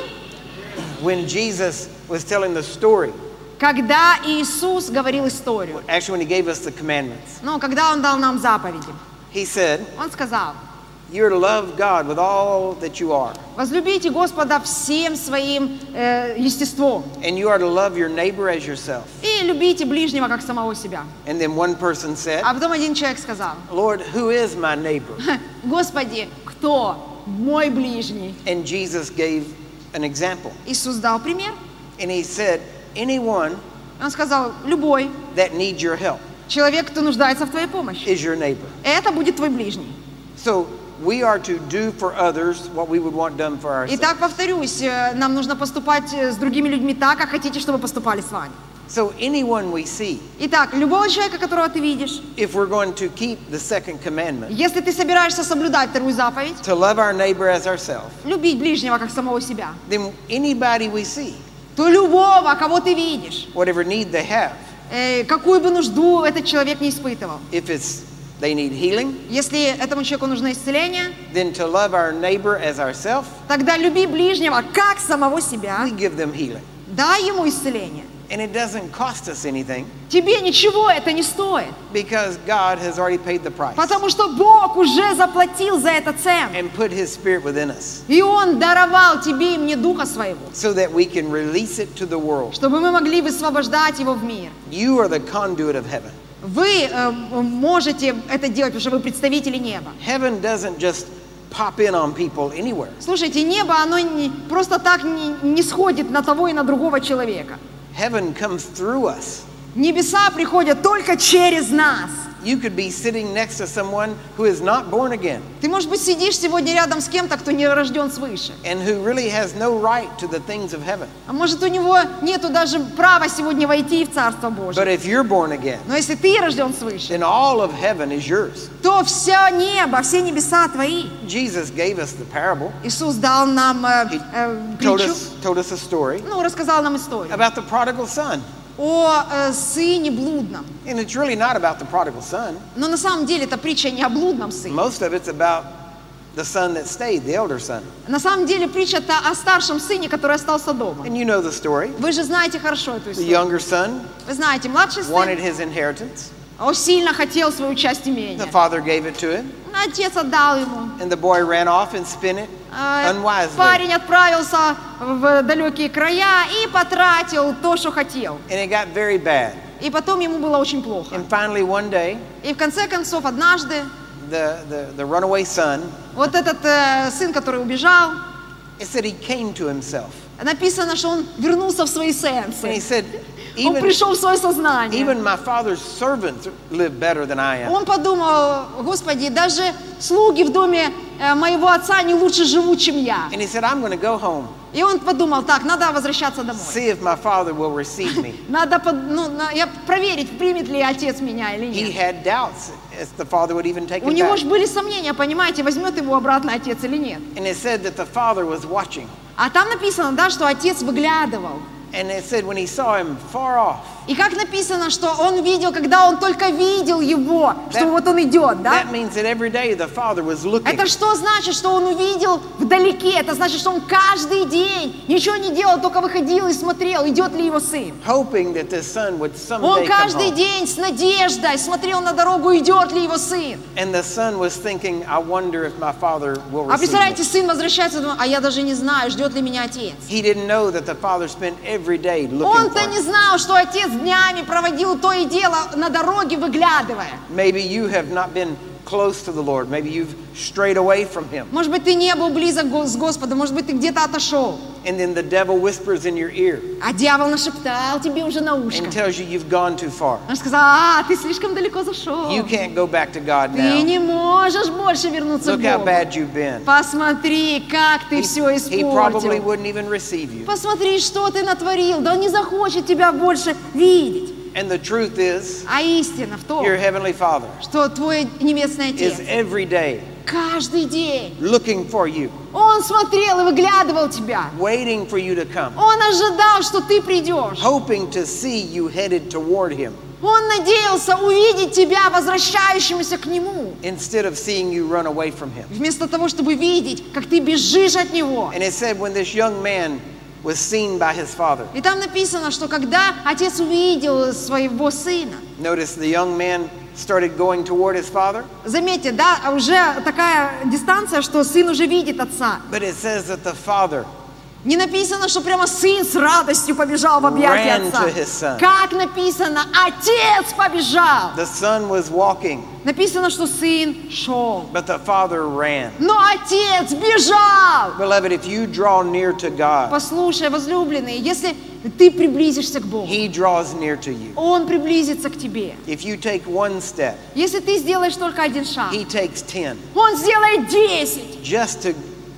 S1: When Jesus was telling the story,
S2: Когда Иисус говорил историю,
S1: actually when he gave us the commandments,
S2: ну, когда Он дал нам заповеди,
S1: he said,
S2: Он сказал:
S1: you're to love God with all that you are,
S2: возлюбите Господа всем своим э, естеством
S1: and you are to love your neighbor as yourself.
S2: и любите ближнего, как самого себя.
S1: And then one person said,
S2: А потом один человек сказал:
S1: Lord, who is my neighbor?
S2: Господи, кто мой ближний?
S1: And Jesus gave an example.
S2: Иисус дал пример.
S1: And he said, anyone
S2: Он сказал: любой
S1: that needs your help
S2: человек, кто нуждается в твоей помощи,
S1: is your neighbor.
S2: это будет твой ближний.
S1: So we are to do for others what we would want done for ourselves.
S2: Итак, повторюсь, э, нам нужно поступать э, с другими людьми так, как хотите, чтобы поступали с вами.
S1: So anyone we see,
S2: Итак, любого человека, которого ты видишь,
S1: if we're going to keep the second commandment,
S2: если ты собираешься соблюдать вторую заповедь,
S1: to love our neighbor as ourselves,
S2: любить ближнего, как самого себя,
S1: then anybody we see,
S2: то любого, кого ты видишь,
S1: whatever need they have,
S2: э, какую бы нужду этот человек не испытывал,
S1: if it's they need healing,
S2: если этому человеку нужно исцеление,
S1: then to love our neighbor as ourselves,
S2: тогда люби ближнего, как самого себя,
S1: we give them healing.
S2: дай ему исцеление.
S1: And it doesn't cost us anything
S2: Тебе ничего это не стоит,
S1: because God has already paid the price
S2: потому что Бог уже заплатил за это цену.
S1: and put his spirit within us
S2: И Он даровал тебе и мне Духа Своего,
S1: so that we can release it to the world.
S2: чтобы мы могли высвобождать Его в мир.
S1: You are the conduit of heaven.
S2: Вы э, можете это делать, потому что вы представители неба.
S1: Heaven doesn't just pop in on people anywhere.
S2: Слушайте, небо, оно не, просто так не, не сходит на того и на другого человека.
S1: Heaven comes through us.
S2: Небеса приходят только через нас.
S1: You could be sitting next to someone who is not born again
S2: Ты, может быть, сидишь сегодня рядом с кем-то, кто не рожден свыше.
S1: and who really has no right to the things of heaven.
S2: А может, у него нету даже права сегодня войти в Царство
S1: But
S2: Божие.
S1: if you're born again,
S2: Но если ты рожден свыше,
S1: then all of heaven is yours.
S2: то все небо, все небеса твои.
S1: Jesus gave us the parable.
S2: Иисус дал нам э,
S1: He
S2: э,
S1: told
S2: притчу,
S1: us, told us a story
S2: ну, рассказал нам историю
S1: about the prodigal son.
S2: о э, сыне блудном.
S1: And it's really not about the prodigal son.
S2: Но на самом деле это притча не о блудном сыне.
S1: Most of it's about the son that stayed, the elder son.
S2: На самом деле притча-то о старшем сыне, который остался дома.
S1: And you know the story.
S2: Вы же знаете хорошо эту
S1: The
S2: историю.
S1: younger son
S2: Вы знаете, младший
S1: wanted
S2: сын,
S1: his inheritance.
S2: он сильно хотел свою часть имения.
S1: The father gave it to him,
S2: Отец отдал ему.
S1: and the boy ran off and spent it
S2: А,
S1: unwisely.
S2: Парень отправился в далекие края и потратил то, что хотел.
S1: And it got very bad.
S2: И потом ему было очень плохо.
S1: And finally, one day,
S2: И в конце концов, однажды,
S1: the, the, the runaway son,
S2: вот этот э, сын, который убежал,
S1: it said he came to himself.
S2: написано, что он вернулся в свои
S1: And he
S2: сенсы.
S1: said,
S2: Он
S1: even,
S2: пришел в свое сознание.
S1: even my father's servants live better than I am.
S2: Он подумал, Господи, даже слуги в доме э, моего отца не лучше живут, чем я.
S1: And he said, I'm going to go home,
S2: И он подумал, так, надо возвращаться домой.
S1: see if my father will receive me.
S2: Надо под- ну, на- я проверить, примет ли отец меня или
S1: He
S2: нет.
S1: had doubts if the father would even take
S2: У
S1: him
S2: него
S1: back.
S2: же были сомнения, понимаете, возьмет его обратно отец или нет.
S1: And it said that the father was watching.
S2: А там написано, да, что отец выглядывал.
S1: And it said when he saw him far off,
S2: И как написано, что он видел, когда он только видел его, что
S1: That-
S2: вот он идет, да?
S1: that means that every day the father was looking,
S2: Это что значит, что он увидел вдалеке? Это значит, что он каждый день ничего не делал, только выходил и смотрел, идет ли его сын.
S1: hoping that this son would someday
S2: Он
S1: come
S2: каждый
S1: home.
S2: день с надеждой смотрел на дорогу, идет ли его сын.
S1: And the son was thinking, I wonder if my father will
S2: А
S1: receive
S2: представляете,
S1: me.
S2: сын возвращается, думает, а я даже не знаю, ждет ли меня отец.
S1: He didn't know that the father spent every day looking for
S2: Он-то не
S1: him.
S2: знал, что отец днями проводил то и дело на дороге, выглядывая.
S1: Maybe you have not been close to the Lord. Maybe you've strayed away from him.
S2: Может быть, ты не был близок го- с Господом, может быть, ты где-то отошел.
S1: And then the devil whispers in your ear
S2: А дьявол нашептал тебе уже на ушко.
S1: and tells you you've gone too far.
S2: Он сказал, а, ты слишком далеко зашел.
S1: You can't go back to God
S2: Ты
S1: now.
S2: не можешь больше вернуться к
S1: Look how
S2: Богу.
S1: bad you've been.
S2: Посмотри, как ты
S1: He,
S2: все
S1: he probably
S2: испортил.
S1: wouldn't even receive you.
S2: Посмотри, что ты натворил. Да он не захочет тебя больше видеть.
S1: And the truth is,
S2: А истина в том,
S1: your heavenly Father
S2: что твой небесный
S1: is
S2: Отец
S1: every day
S2: каждый день,
S1: looking for you,
S2: Он смотрел и выглядывал тебя.
S1: waiting for you to come,
S2: Он ожидал, что ты придешь.
S1: hoping to see you headed toward Him
S2: Он надеялся увидеть тебя, возвращающимся к Нему.
S1: instead of seeing you run away from Him.
S2: Вместо того, чтобы видеть, как ты бежишь от Него.
S1: And it said when this young man was seen by his father,
S2: И там написано, что когда отец увидел своего сына,
S1: notice the young man started going toward his father,
S2: заметьте, да, уже такая дистанция, что сын уже видит отца.
S1: but it says that the father
S2: Не написано, что прямо сын с радостью побежал в объятия
S1: ran
S2: отца.
S1: to his son.
S2: Как написано, отец побежал.
S1: The son was walking,
S2: Написано, что сын шел.
S1: but the father ran.
S2: Но отец бежал.
S1: Beloved, if you draw near to God,
S2: Послушай, возлюбленный, если ты приблизишься к Богу,
S1: He draws near to you.
S2: Он приблизится к тебе.
S1: If you take one step,
S2: Если ты сделаешь только один шаг,
S1: He takes ten,
S2: Он сделает десять.
S1: just to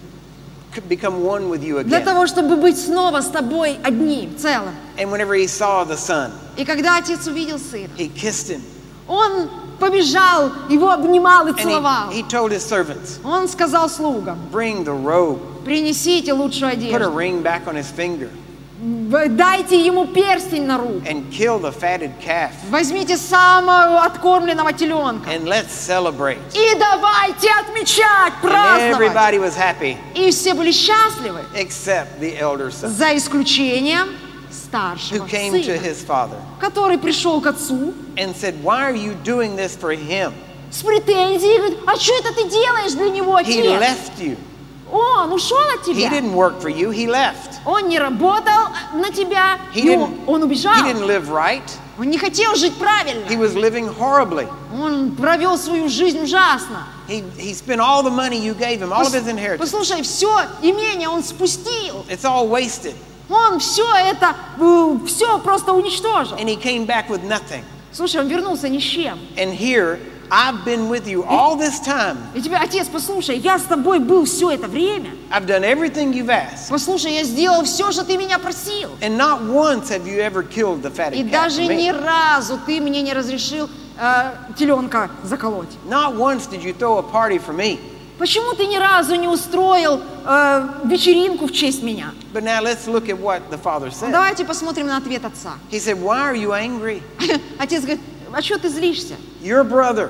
S1: c- become one with you
S2: Для
S1: again.
S2: того, чтобы быть снова с тобой одним, целым.
S1: And whenever he saw the son,
S2: И когда отец увидел сына,
S1: he kissed him,
S2: он побежал, его обнимал и
S1: and
S2: целовал.
S1: he, he told his servants,
S2: Он сказал слугам,
S1: bring the robe,
S2: принесите лучшую
S1: put a
S2: одежду,
S1: ring back on his finger,
S2: в- дайте ему перстень на руку,
S1: and kill the fatted calf,
S2: возьмите самого откормленного теленка
S1: and let's celebrate.
S2: и давайте отмечать,
S1: And
S2: праздновать.
S1: everybody was happy
S2: И все были счастливы,
S1: except the elder son,
S2: за исключением
S1: who
S2: старшего
S1: came to
S2: сына,
S1: his father
S2: который пришел к отцу
S1: and said, why are you doing this for him?
S2: с претензией, говорит, а что это ты делаешь для него,
S1: He
S2: отец?
S1: left you.
S2: Он ушел от
S1: He
S2: тебя.
S1: didn't work for you, he left.
S2: Он не работал на тебя,
S1: He
S2: и он,
S1: didn't,
S2: он убежал.
S1: he didn't live right.
S2: Он не хотел жить правильно.
S1: He was living horribly.
S2: Он провел свою жизнь ужасно.
S1: He, he spent all the money you gave him, all of his inheritance.
S2: Послушай, все имение он спустил.
S1: It's all wasted.
S2: Он все это, все просто уничтожил.
S1: And he came back with nothing.
S2: Слушай, он вернулся ни с чем.
S1: And here, I've been with you all this time.
S2: И тебе, отец, послушай, я с тобой был все это время.
S1: I've done everything you've asked.
S2: Послушай, я сделал все, что ты меня просил.
S1: And not once have you ever killed the
S2: И
S1: fatted calf
S2: даже
S1: for
S2: ни
S1: me.
S2: разу ты мне не разрешил э, теленка заколоть.
S1: Not once did you throw a party for me.
S2: Почему ты ни разу не устроил э, вечеринку в честь меня?
S1: But now let's look at what the father
S2: Ну,
S1: said.
S2: давайте посмотрим на ответ отца.
S1: He said, why are you angry?
S2: Отец говорит, а что ты злишься?
S1: Your brother,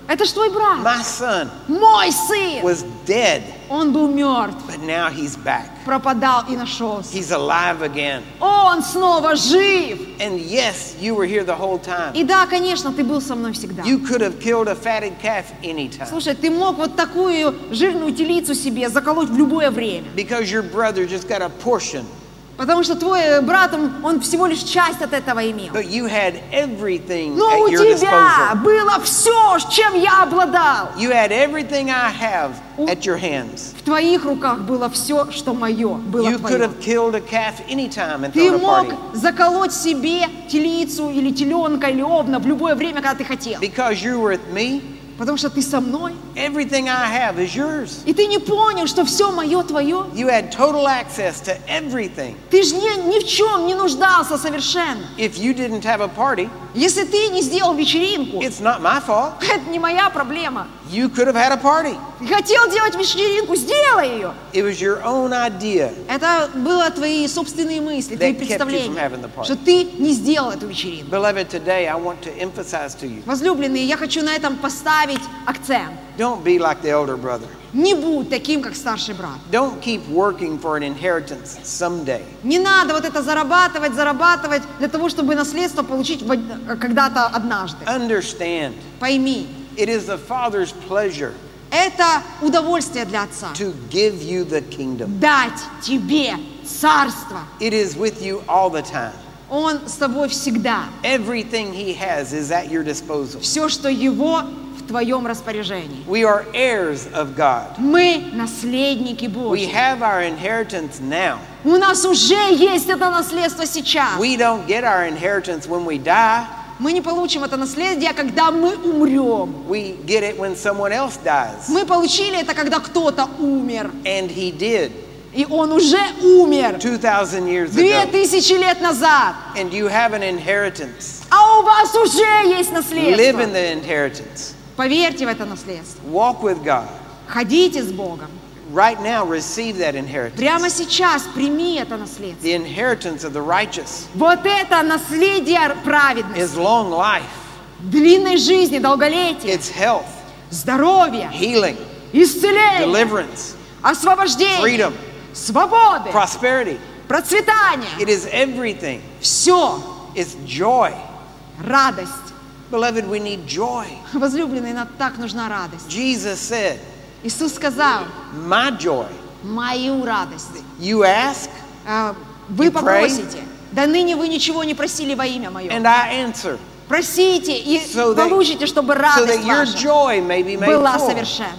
S2: Это ж твой брат.
S1: My son
S2: Мой сын.
S1: was dead,
S2: Он был мертв,
S1: but now he's back.
S2: пропадал и нашелся.
S1: He's alive again.
S2: Он снова жив.
S1: And yes, you were here the whole time.
S2: И да, конечно, ты был со мной всегда.
S1: You could have killed a fatted calf anytime.
S2: Слушай, ты мог вот такую жирную телицу себе заколоть в любое время.
S1: Because your brother just got a portion.
S2: Потому что твой брат, он, он всего лишь часть от этого имел.
S1: But you had everything
S2: Но
S1: at
S2: у
S1: your
S2: тебя
S1: disposal.
S2: было все, чем я обладал.
S1: You had everything I have at your hands.
S2: В твоих руках было все, что мое, было
S1: You could
S2: твое.
S1: have killed a calf anytime and
S2: Ты
S1: thrown a
S2: мог
S1: party.
S2: заколоть себе телицу или теленка или овна в любое время, когда ты хотел.
S1: Because you were with me,
S2: Потому что ты со мной.
S1: everything I have is yours.
S2: И ты не понял, что все мое твое.
S1: You had total access to everything.
S2: Ты же ни, ни в чем не нуждался совершенно.
S1: If you didn't have a party,
S2: Если ты не сделал вечеринку,
S1: it's not my fault.
S2: это не моя проблема.
S1: You could have had a party.
S2: Ты хотел делать вечеринку, сделай ее.
S1: It was your own idea.
S2: Это было твои собственные мысли, твои
S1: That kept you from
S2: представления,
S1: having the party.
S2: что ты не сделал эту вечеринку.
S1: Beloved, today I want to emphasize to you,
S2: Возлюбленные, я хочу на этом поставить акцент.
S1: don't be like the elder brother.
S2: Не будь таким, как старший брат.
S1: Don't keep working for an inheritance someday.
S2: Не надо вот это зарабатывать, зарабатывать для того, чтобы наследство получить в од- когда-то однажды.
S1: Understand,
S2: Пойми,
S1: it is the Father's pleasure
S2: это удовольствие для Отца.
S1: to give you the kingdom.
S2: Дать тебе царство.
S1: It is with you all the time.
S2: Он с тобой всегда.
S1: Everything He has is at your disposal.
S2: Все, что Его в твоем распоряжении.
S1: We are heirs of God.
S2: Мы наследники
S1: We
S2: Божьи.
S1: have our inheritance now.
S2: У нас уже есть это наследство сейчас.
S1: We don't get our inheritance when we die.
S2: Мы не получим это наследие, когда мы умрем.
S1: We get it when someone else dies.
S2: Мы получили это, когда кто-то умер.
S1: And He did
S2: И он уже умер
S1: two thousand years
S2: две
S1: ago.
S2: тысячи лет назад.
S1: And you have an inheritance.
S2: А у вас уже есть
S1: Live in
S2: наследство.
S1: the inheritance.
S2: Поверьте в это наследство.
S1: Walk with God.
S2: Ходите с Богом.
S1: Right now, receive that inheritance.
S2: Прямо сейчас прими это наследство.
S1: The inheritance of the righteous
S2: Вот это наследие праведности,
S1: is long life.
S2: длинной жизни, долголетия,
S1: It's health,
S2: здоровья,
S1: healing,
S2: исцеления,
S1: deliverance,
S2: освобождения,
S1: freedom,
S2: свободы,
S1: prosperity.
S2: процветания.
S1: It is everything.
S2: Все,
S1: It's joy.
S2: радость.
S1: Beloved, we need joy.
S2: Возлюбленный, нам так нужна радость.
S1: Jesus said,
S2: Иисус сказал,
S1: my joy.
S2: мою радость.
S1: You ask,
S2: А, Вы
S1: You pray.
S2: попросите. Да ныне вы ничего не просили во имя Мое.
S1: and I answer,
S2: Просите и
S1: So that-
S2: получите, чтобы
S1: so
S2: радость
S1: that your
S2: ваша
S1: joy may be made
S2: была
S1: full.
S2: совершенна.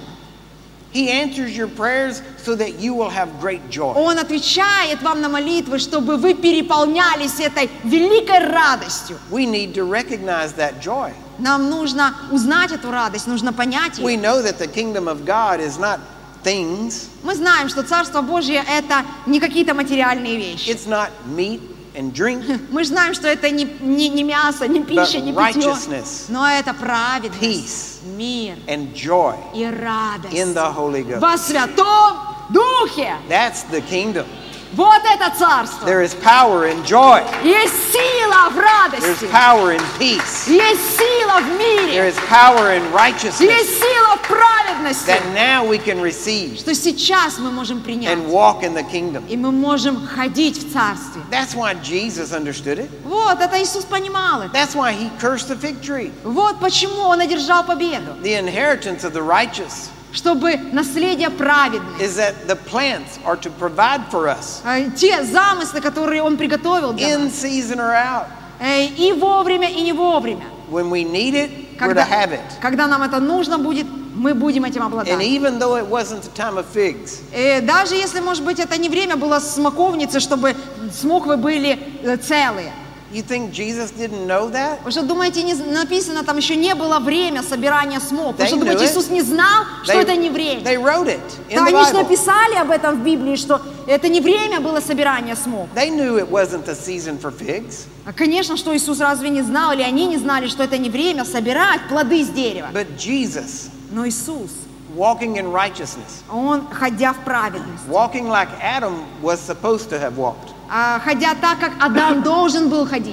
S1: He answers your prayers so that you will have great joy.
S2: Он отвечает вам на молитвы, чтобы вы переполнялись этой великой радостью.
S1: We need to recognize that joy.
S2: Нам нужно узнать эту радость, нужно понять
S1: We
S2: ее.
S1: know that the kingdom of God is not things.
S2: Мы знаем, что Царство Божье – это не какие-то материальные вещи.
S1: It's not meat and drink,
S2: Мы же знаем, что это не, не, не мясо, не пища,
S1: but
S2: не питье,
S1: righteousness,
S2: но это праведность,
S1: peace,
S2: мир
S1: and joy
S2: и радость
S1: in the Holy Ghost.
S2: во Святом Духе.
S1: That's the kingdom.
S2: Вот это Царство.
S1: There is power in joy.
S2: Есть сила в
S1: There's
S2: радости,
S1: power in peace.
S2: есть сила в
S1: There
S2: мире,
S1: is power in righteousness
S2: есть сила в праведности,
S1: that now we can receive
S2: что сейчас мы можем принять.
S1: and walk in the kingdom.
S2: И мы можем ходить в Царстве.
S1: That's why Jesus understood it.
S2: Вот, это Иисус понимал это.
S1: That's why he cursed the fig tree.
S2: Вот почему Он одержал победу.
S1: The inheritance of the righteous
S2: Чтобы наследие праведное,
S1: is that the plants are to provide for us
S2: э, те замыслы, которые Он приготовил для
S1: in
S2: нас,
S1: season or out.
S2: э, и вовремя, и не вовремя.
S1: When we need it, we're to
S2: Когда,
S1: have it.
S2: когда нам это нужно будет, мы будем этим
S1: And
S2: обладать.
S1: even though it wasn't the time of figs,
S2: Э, Даже если, может быть, это не время было смоковницы, чтобы смоквы были э, целые.
S1: you think Jesus didn't know that?
S2: Вы что, думаете, не написано, там еще не было время собирания смокв? Вы
S1: They
S2: что,
S1: knew
S2: думаете,
S1: it.
S2: Иисус не знал, что
S1: They,
S2: это не время?
S1: they wrote it in
S2: Да,
S1: the
S2: они же
S1: Bible.
S2: написали об этом в Библии, что это не время было собирания смокв.
S1: They knew it wasn't the season for figs.
S2: А, конечно, что Иисус разве не знал, или они не знали, что это не время собирать плоды с дерева.
S1: But Jesus,
S2: Но Иисус,
S1: walking in righteousness,
S2: Он, ходя в праведность,
S1: walking like Adam was supposed to have walked,
S2: а, ходя так, как Адам должен был ходить,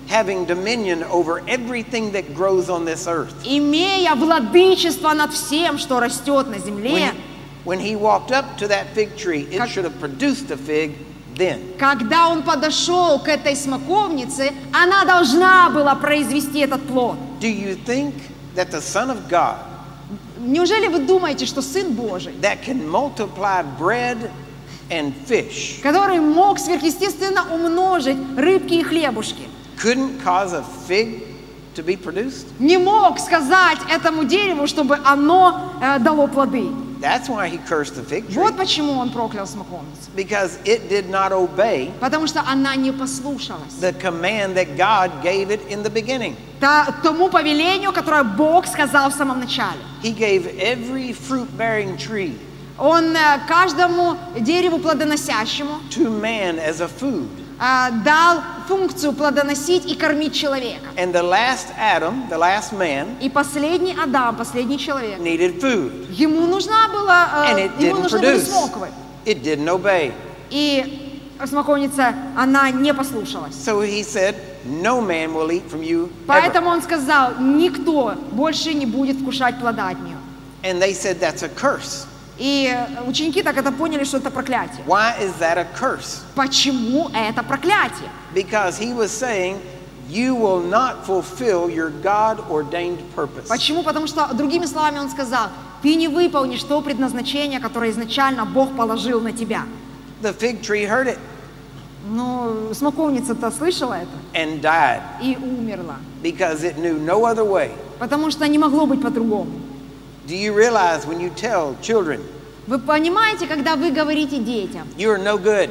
S1: having dominion over everything that grows on this earth.
S2: имея владычество над всем, что растет на земле.
S1: When, when he walked up to that fig tree, it
S2: Как-
S1: should have produced a fig then.
S2: Когда он подошел к этой смоковнице, она должна была произвести этот плод.
S1: Do you think that the Son of God
S2: Неужели вы думаете, что Сын Божий,
S1: that can multiply bread and fish
S2: который мог сверхъестественно умножить рыбки и хлебушки,
S1: couldn't cause a fig to be produced?
S2: не мог сказать этому дереву, чтобы оно э, дало плоды?
S1: That's why he cursed the fig tree.
S2: Вот почему он проклял смоковницу.
S1: Because it did not obey
S2: Потому что она не послушалась
S1: the command that God gave it in the beginning.
S2: та- тому повелению, которое Бог сказал в самом начале.
S1: He gave every fruit-bearing tree
S2: Он э, каждому дереву плодоносящему
S1: to man as a food.
S2: э, дал функцию плодоносить и кормить человека.
S1: And the last Adam, the last man,
S2: И последний Адам, последний человек,
S1: needed food.
S2: ему нужна была,
S1: And
S2: э,
S1: it
S2: ему
S1: didn't
S2: нужны были
S1: produce.
S2: смоквы.
S1: It didn't obey.
S2: И смоковница, она не послушалась.
S1: So he said, no man will eat from you ever.
S2: Поэтому он сказал, никто больше не будет вкушать плода от нее.
S1: And they said, that's a curse.
S2: И ученики так это поняли, что это проклятие.
S1: Why is that a curse?
S2: Почему это проклятие?
S1: Because he was saying, you will not fulfill your God-ordained purpose.
S2: Почему? Потому что, другими словами, он сказал, ты не выполнишь то предназначение, которое изначально Бог положил на тебя.
S1: The fig tree heard it
S2: Ну, смоковница-то слышала это
S1: and died
S2: и умерла.
S1: because it knew no other way.
S2: Потому что не могло быть по-другому.
S1: Do you realize when you tell children,
S2: Вы понимаете, когда вы говорите детям,
S1: you're no good,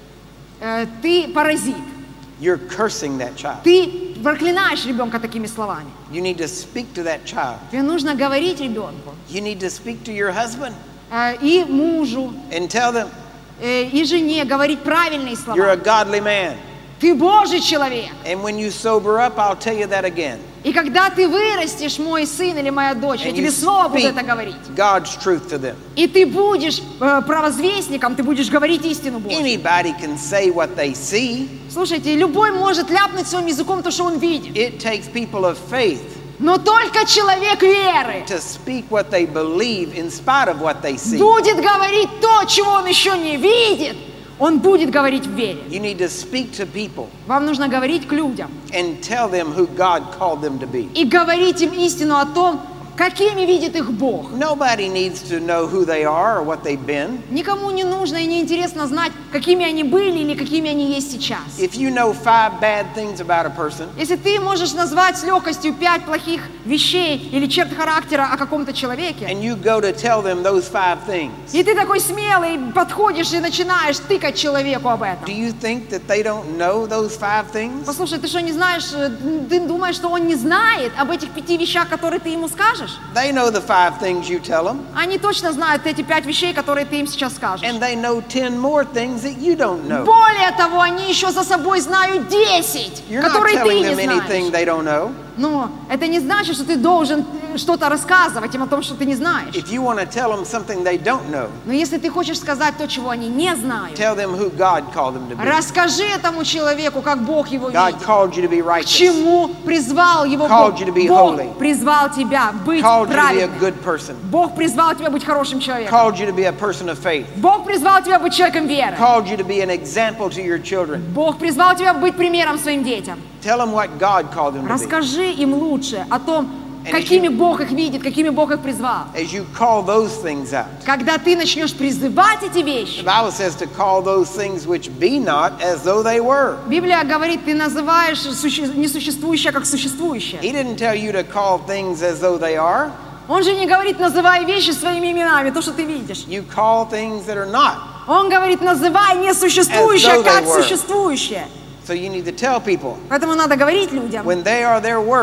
S2: э, ты паразит,
S1: you're cursing that child.
S2: ты проклинаешь ребенка такими словами.
S1: You need to speak to that child.
S2: Тебе нужно говорить ребенку
S1: You need to speak to your husband
S2: э, и мужу,
S1: and tell them,
S2: э, и жене говорить правильные
S1: you're a
S2: слова.
S1: godly man.
S2: Ты Божий человек.
S1: And when you sober up, I'll tell you that again.
S2: И когда ты вырастешь, мой сын или моя дочь, я
S1: And
S2: тебе
S1: you
S2: снова буду
S1: speak
S2: это говорить.
S1: God's truth to them.
S2: И ты будешь э, провозвестником, ты будешь говорить истину Божью.
S1: Anybody can say what they see.
S2: Слушайте, любой может ляпнуть своим языком то, что он видит.
S1: It takes people of faith
S2: Но только человек веры
S1: to speak what they believe in spite of what they see.
S2: будет говорить то, чего он еще не видит. Он будет говорить в вере.
S1: You need to speak to people
S2: Вам нужно говорить к людям
S1: and tell them who God called them to be.
S2: и говорить им истину о том, какими видит их Бог.
S1: Nobody needs to know who they are or what they've been.
S2: Никому не нужно и не интересно знать, какими они были или какими они есть сейчас.
S1: If you know five bad things about a person,
S2: Если ты можешь назвать с легкостью пять плохих вещей или черт характера о каком-то человеке,
S1: and you go to tell them those five things,
S2: и ты такой смелый подходишь и начинаешь тыкать человеку об этом.
S1: do you think that they don't know those five things?
S2: Послушай, ты что, не знаешь, э, ты думаешь, что он не знает об этих пяти вещах, которые ты ему скажешь?
S1: They know the five things you tell them,
S2: Они точно знают эти пять вещей, которые ты им сейчас скажешь.
S1: and they know ten more things that you don't know.
S2: Более того, они еще за собой знают десять,
S1: You're not
S2: которые ты
S1: telling
S2: не
S1: them anything
S2: знаешь.
S1: they don't know.
S2: Но это не значит, что ты должен э, что-то рассказывать им о том, что ты не знаешь.
S1: If you want to tell them something they don't know,
S2: Но если ты хочешь сказать то, чего они не знают,
S1: tell them who God called them to be.
S2: расскажи этому человеку, как Бог его
S1: God
S2: видит.
S1: called you to be
S2: К
S1: righteous,
S2: чему призвал его
S1: Called
S2: Бог?
S1: you to be
S2: Бог
S1: holy.
S2: призвал тебя быть
S1: called you to be a
S2: праведным.
S1: good person,
S2: Бог призвал тебя быть хорошим человеком.
S1: called you to be a person of faith,
S2: Бог призвал тебя быть человеком веры.
S1: called you to be an example to your children.
S2: Бог призвал тебя быть примером своим детям.
S1: Tell them what God called them to be.
S2: Расскажи им лучше о том,
S1: And
S2: какими
S1: if you-
S2: Бог их видит, какими Бог их призвал.
S1: As you call those things out.
S2: Когда ты начнешь призывать эти
S1: The
S2: вещи,
S1: Bible says to call those things which be not as though they were.
S2: Библия говорит, ты называешь суще- несуществующее как существующее.
S1: He didn't tell you to call things as though they are.
S2: Он же не говорит, называй вещи своими именами, то, что ты видишь.
S1: You call things that are not.
S2: Он говорит, называй несуществующее
S1: As though they
S2: как
S1: were.
S2: существующее.
S1: So you need to tell people
S2: Поэтому надо говорить людям,
S1: when they are their worst,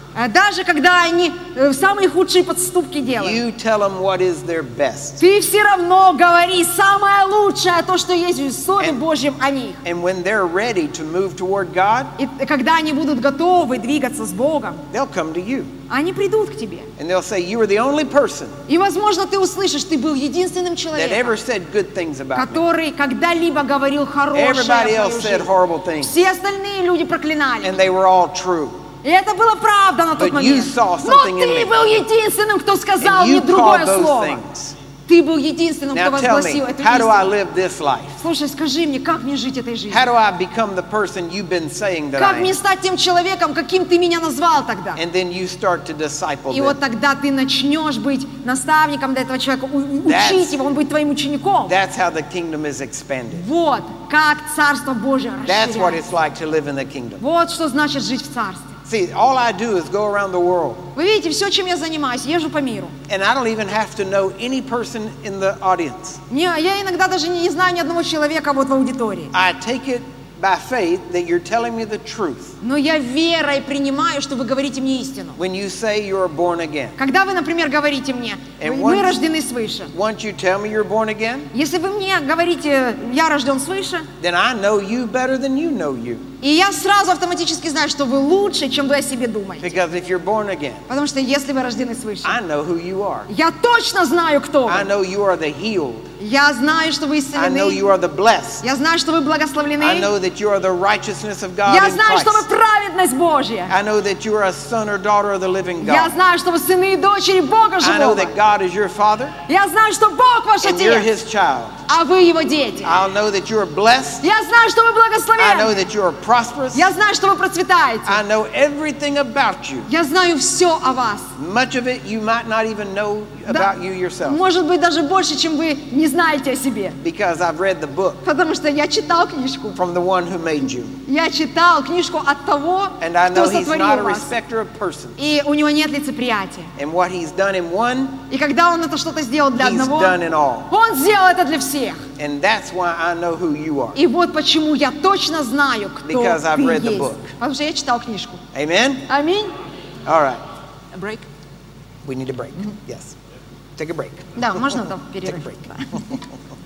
S2: А даже когда они э, самые худшие подступки делают,
S1: you tell them what is their best.
S2: ты все равно говори самое лучшее, то, что есть в Слове
S1: And-
S2: Божьем о них.
S1: And when they're ready to move toward God,
S2: И когда они будут готовы двигаться с Богом,
S1: they'll come to you.
S2: они придут к тебе.
S1: And they'll say, you are the only person
S2: И, возможно, ты услышишь, ты был единственным
S1: that
S2: человеком,
S1: ever said good things about me.
S2: который когда-либо говорил хорошее о
S1: Everybody
S2: твою
S1: else said
S2: жизнь.
S1: horrible things.
S2: Все остальные люди проклинали.
S1: And they were all true.
S2: И это было правда на тот
S1: But you
S2: момент.
S1: saw
S2: Но
S1: something in
S2: ты
S1: me.
S2: был единственным, кто сказал
S1: And
S2: мне
S1: you
S2: другое
S1: called those
S2: слово.
S1: things.
S2: Ты был единственным, кто
S1: Now tell me,
S2: возгласил эту
S1: how do I
S2: истину.
S1: live this life?
S2: Слушай, скажи мне, как мне жить этой жизнью?
S1: How do I become the person you've been saying that
S2: Как
S1: I
S2: мне
S1: am?
S2: стать тем человеком, каким ты меня назвал тогда?
S1: And then you start to disciple
S2: И вот
S1: them.
S2: тогда ты начнешь быть наставником для этого человека, у- учить
S1: That's-
S2: его, он будет твоим учеником.
S1: That's how the kingdom is expanded.
S2: Вот как Царство Божие
S1: That's what
S2: расширяется.
S1: it's like to live in the kingdom.
S2: Вот что значит жить в Царстве.
S1: See, all I do is go around the world.
S2: Вы видите, все, чем я занимаюсь, езжу по миру.
S1: And I don't even have to know any person in the audience.
S2: Не, я иногда даже не знаю ни одного человека вот в аудитории.
S1: I take it by faith that you're telling me the truth
S2: Но я верой принимаю, что вы говорите мне истину.
S1: when you say you're born again.
S2: Когда вы, например, говорите мне,
S1: And
S2: мы
S1: once-
S2: рождены свыше.
S1: Once you tell me you're born again,
S2: Если вы мне говорите, я рожден свыше,
S1: then I know you better than you know you.
S2: и я сразу автоматически знаю, что вы лучше, чем вы о себе думаете.
S1: Because if you're born again,
S2: Потому что если вы рождены свыше,
S1: I know who you are.
S2: я точно знаю, кто
S1: I
S2: вы.
S1: know you are the healed.
S2: Я знаю, что вы
S1: I know you
S2: исцелены.
S1: are the blessed.
S2: Я знаю, что вы
S1: I
S2: благословлены.
S1: know that you are the righteousness of God
S2: Я
S1: in
S2: знаю, что вы
S1: Christ.
S2: праведность Божья.
S1: I know that you are a son or daughter of the living
S2: Я
S1: God.
S2: знаю, что вы сыны и дочери Бога
S1: I know
S2: живого.
S1: that God is your father
S2: Я знаю, что Бог ваш
S1: and you're
S2: Отец,
S1: his child.
S2: а вы Его дети.
S1: I'll know that you are blessed.
S2: Я знаю, что вы
S1: I know
S2: благословенны.
S1: that you are prosperous.
S2: Я знаю, что вы процветаете.
S1: I know everything about you.
S2: Я знаю все о вас.
S1: Much of it you might not even know
S2: Да,
S1: about you yourself
S2: может быть, даже больше, чем вы не знаете о себе.
S1: because I've read the book
S2: Потому что я читал книжку.
S1: from the one who made you.
S2: Я читал книжку от того,
S1: And I
S2: кто
S1: know he's not
S2: сотворил
S1: a
S2: вас.
S1: respecter of persons.
S2: И у него нет лицеприятия.
S1: And what he's done in one,
S2: И когда он это что-то сделал для
S1: he's
S2: одного,
S1: done in all.
S2: он сделал это для всех.
S1: And that's why I know who you are.
S2: И вот почему я точно знаю, кто
S1: Because I've
S2: ты
S1: read the
S2: есть.
S1: book.
S2: Потому что я читал книжку.
S1: Amen?
S2: Аминь.
S1: All right.
S2: Break.
S1: We need a break. Yes. Take a break.
S2: Да, можно там
S1: Take a
S2: перерыв.
S1: break.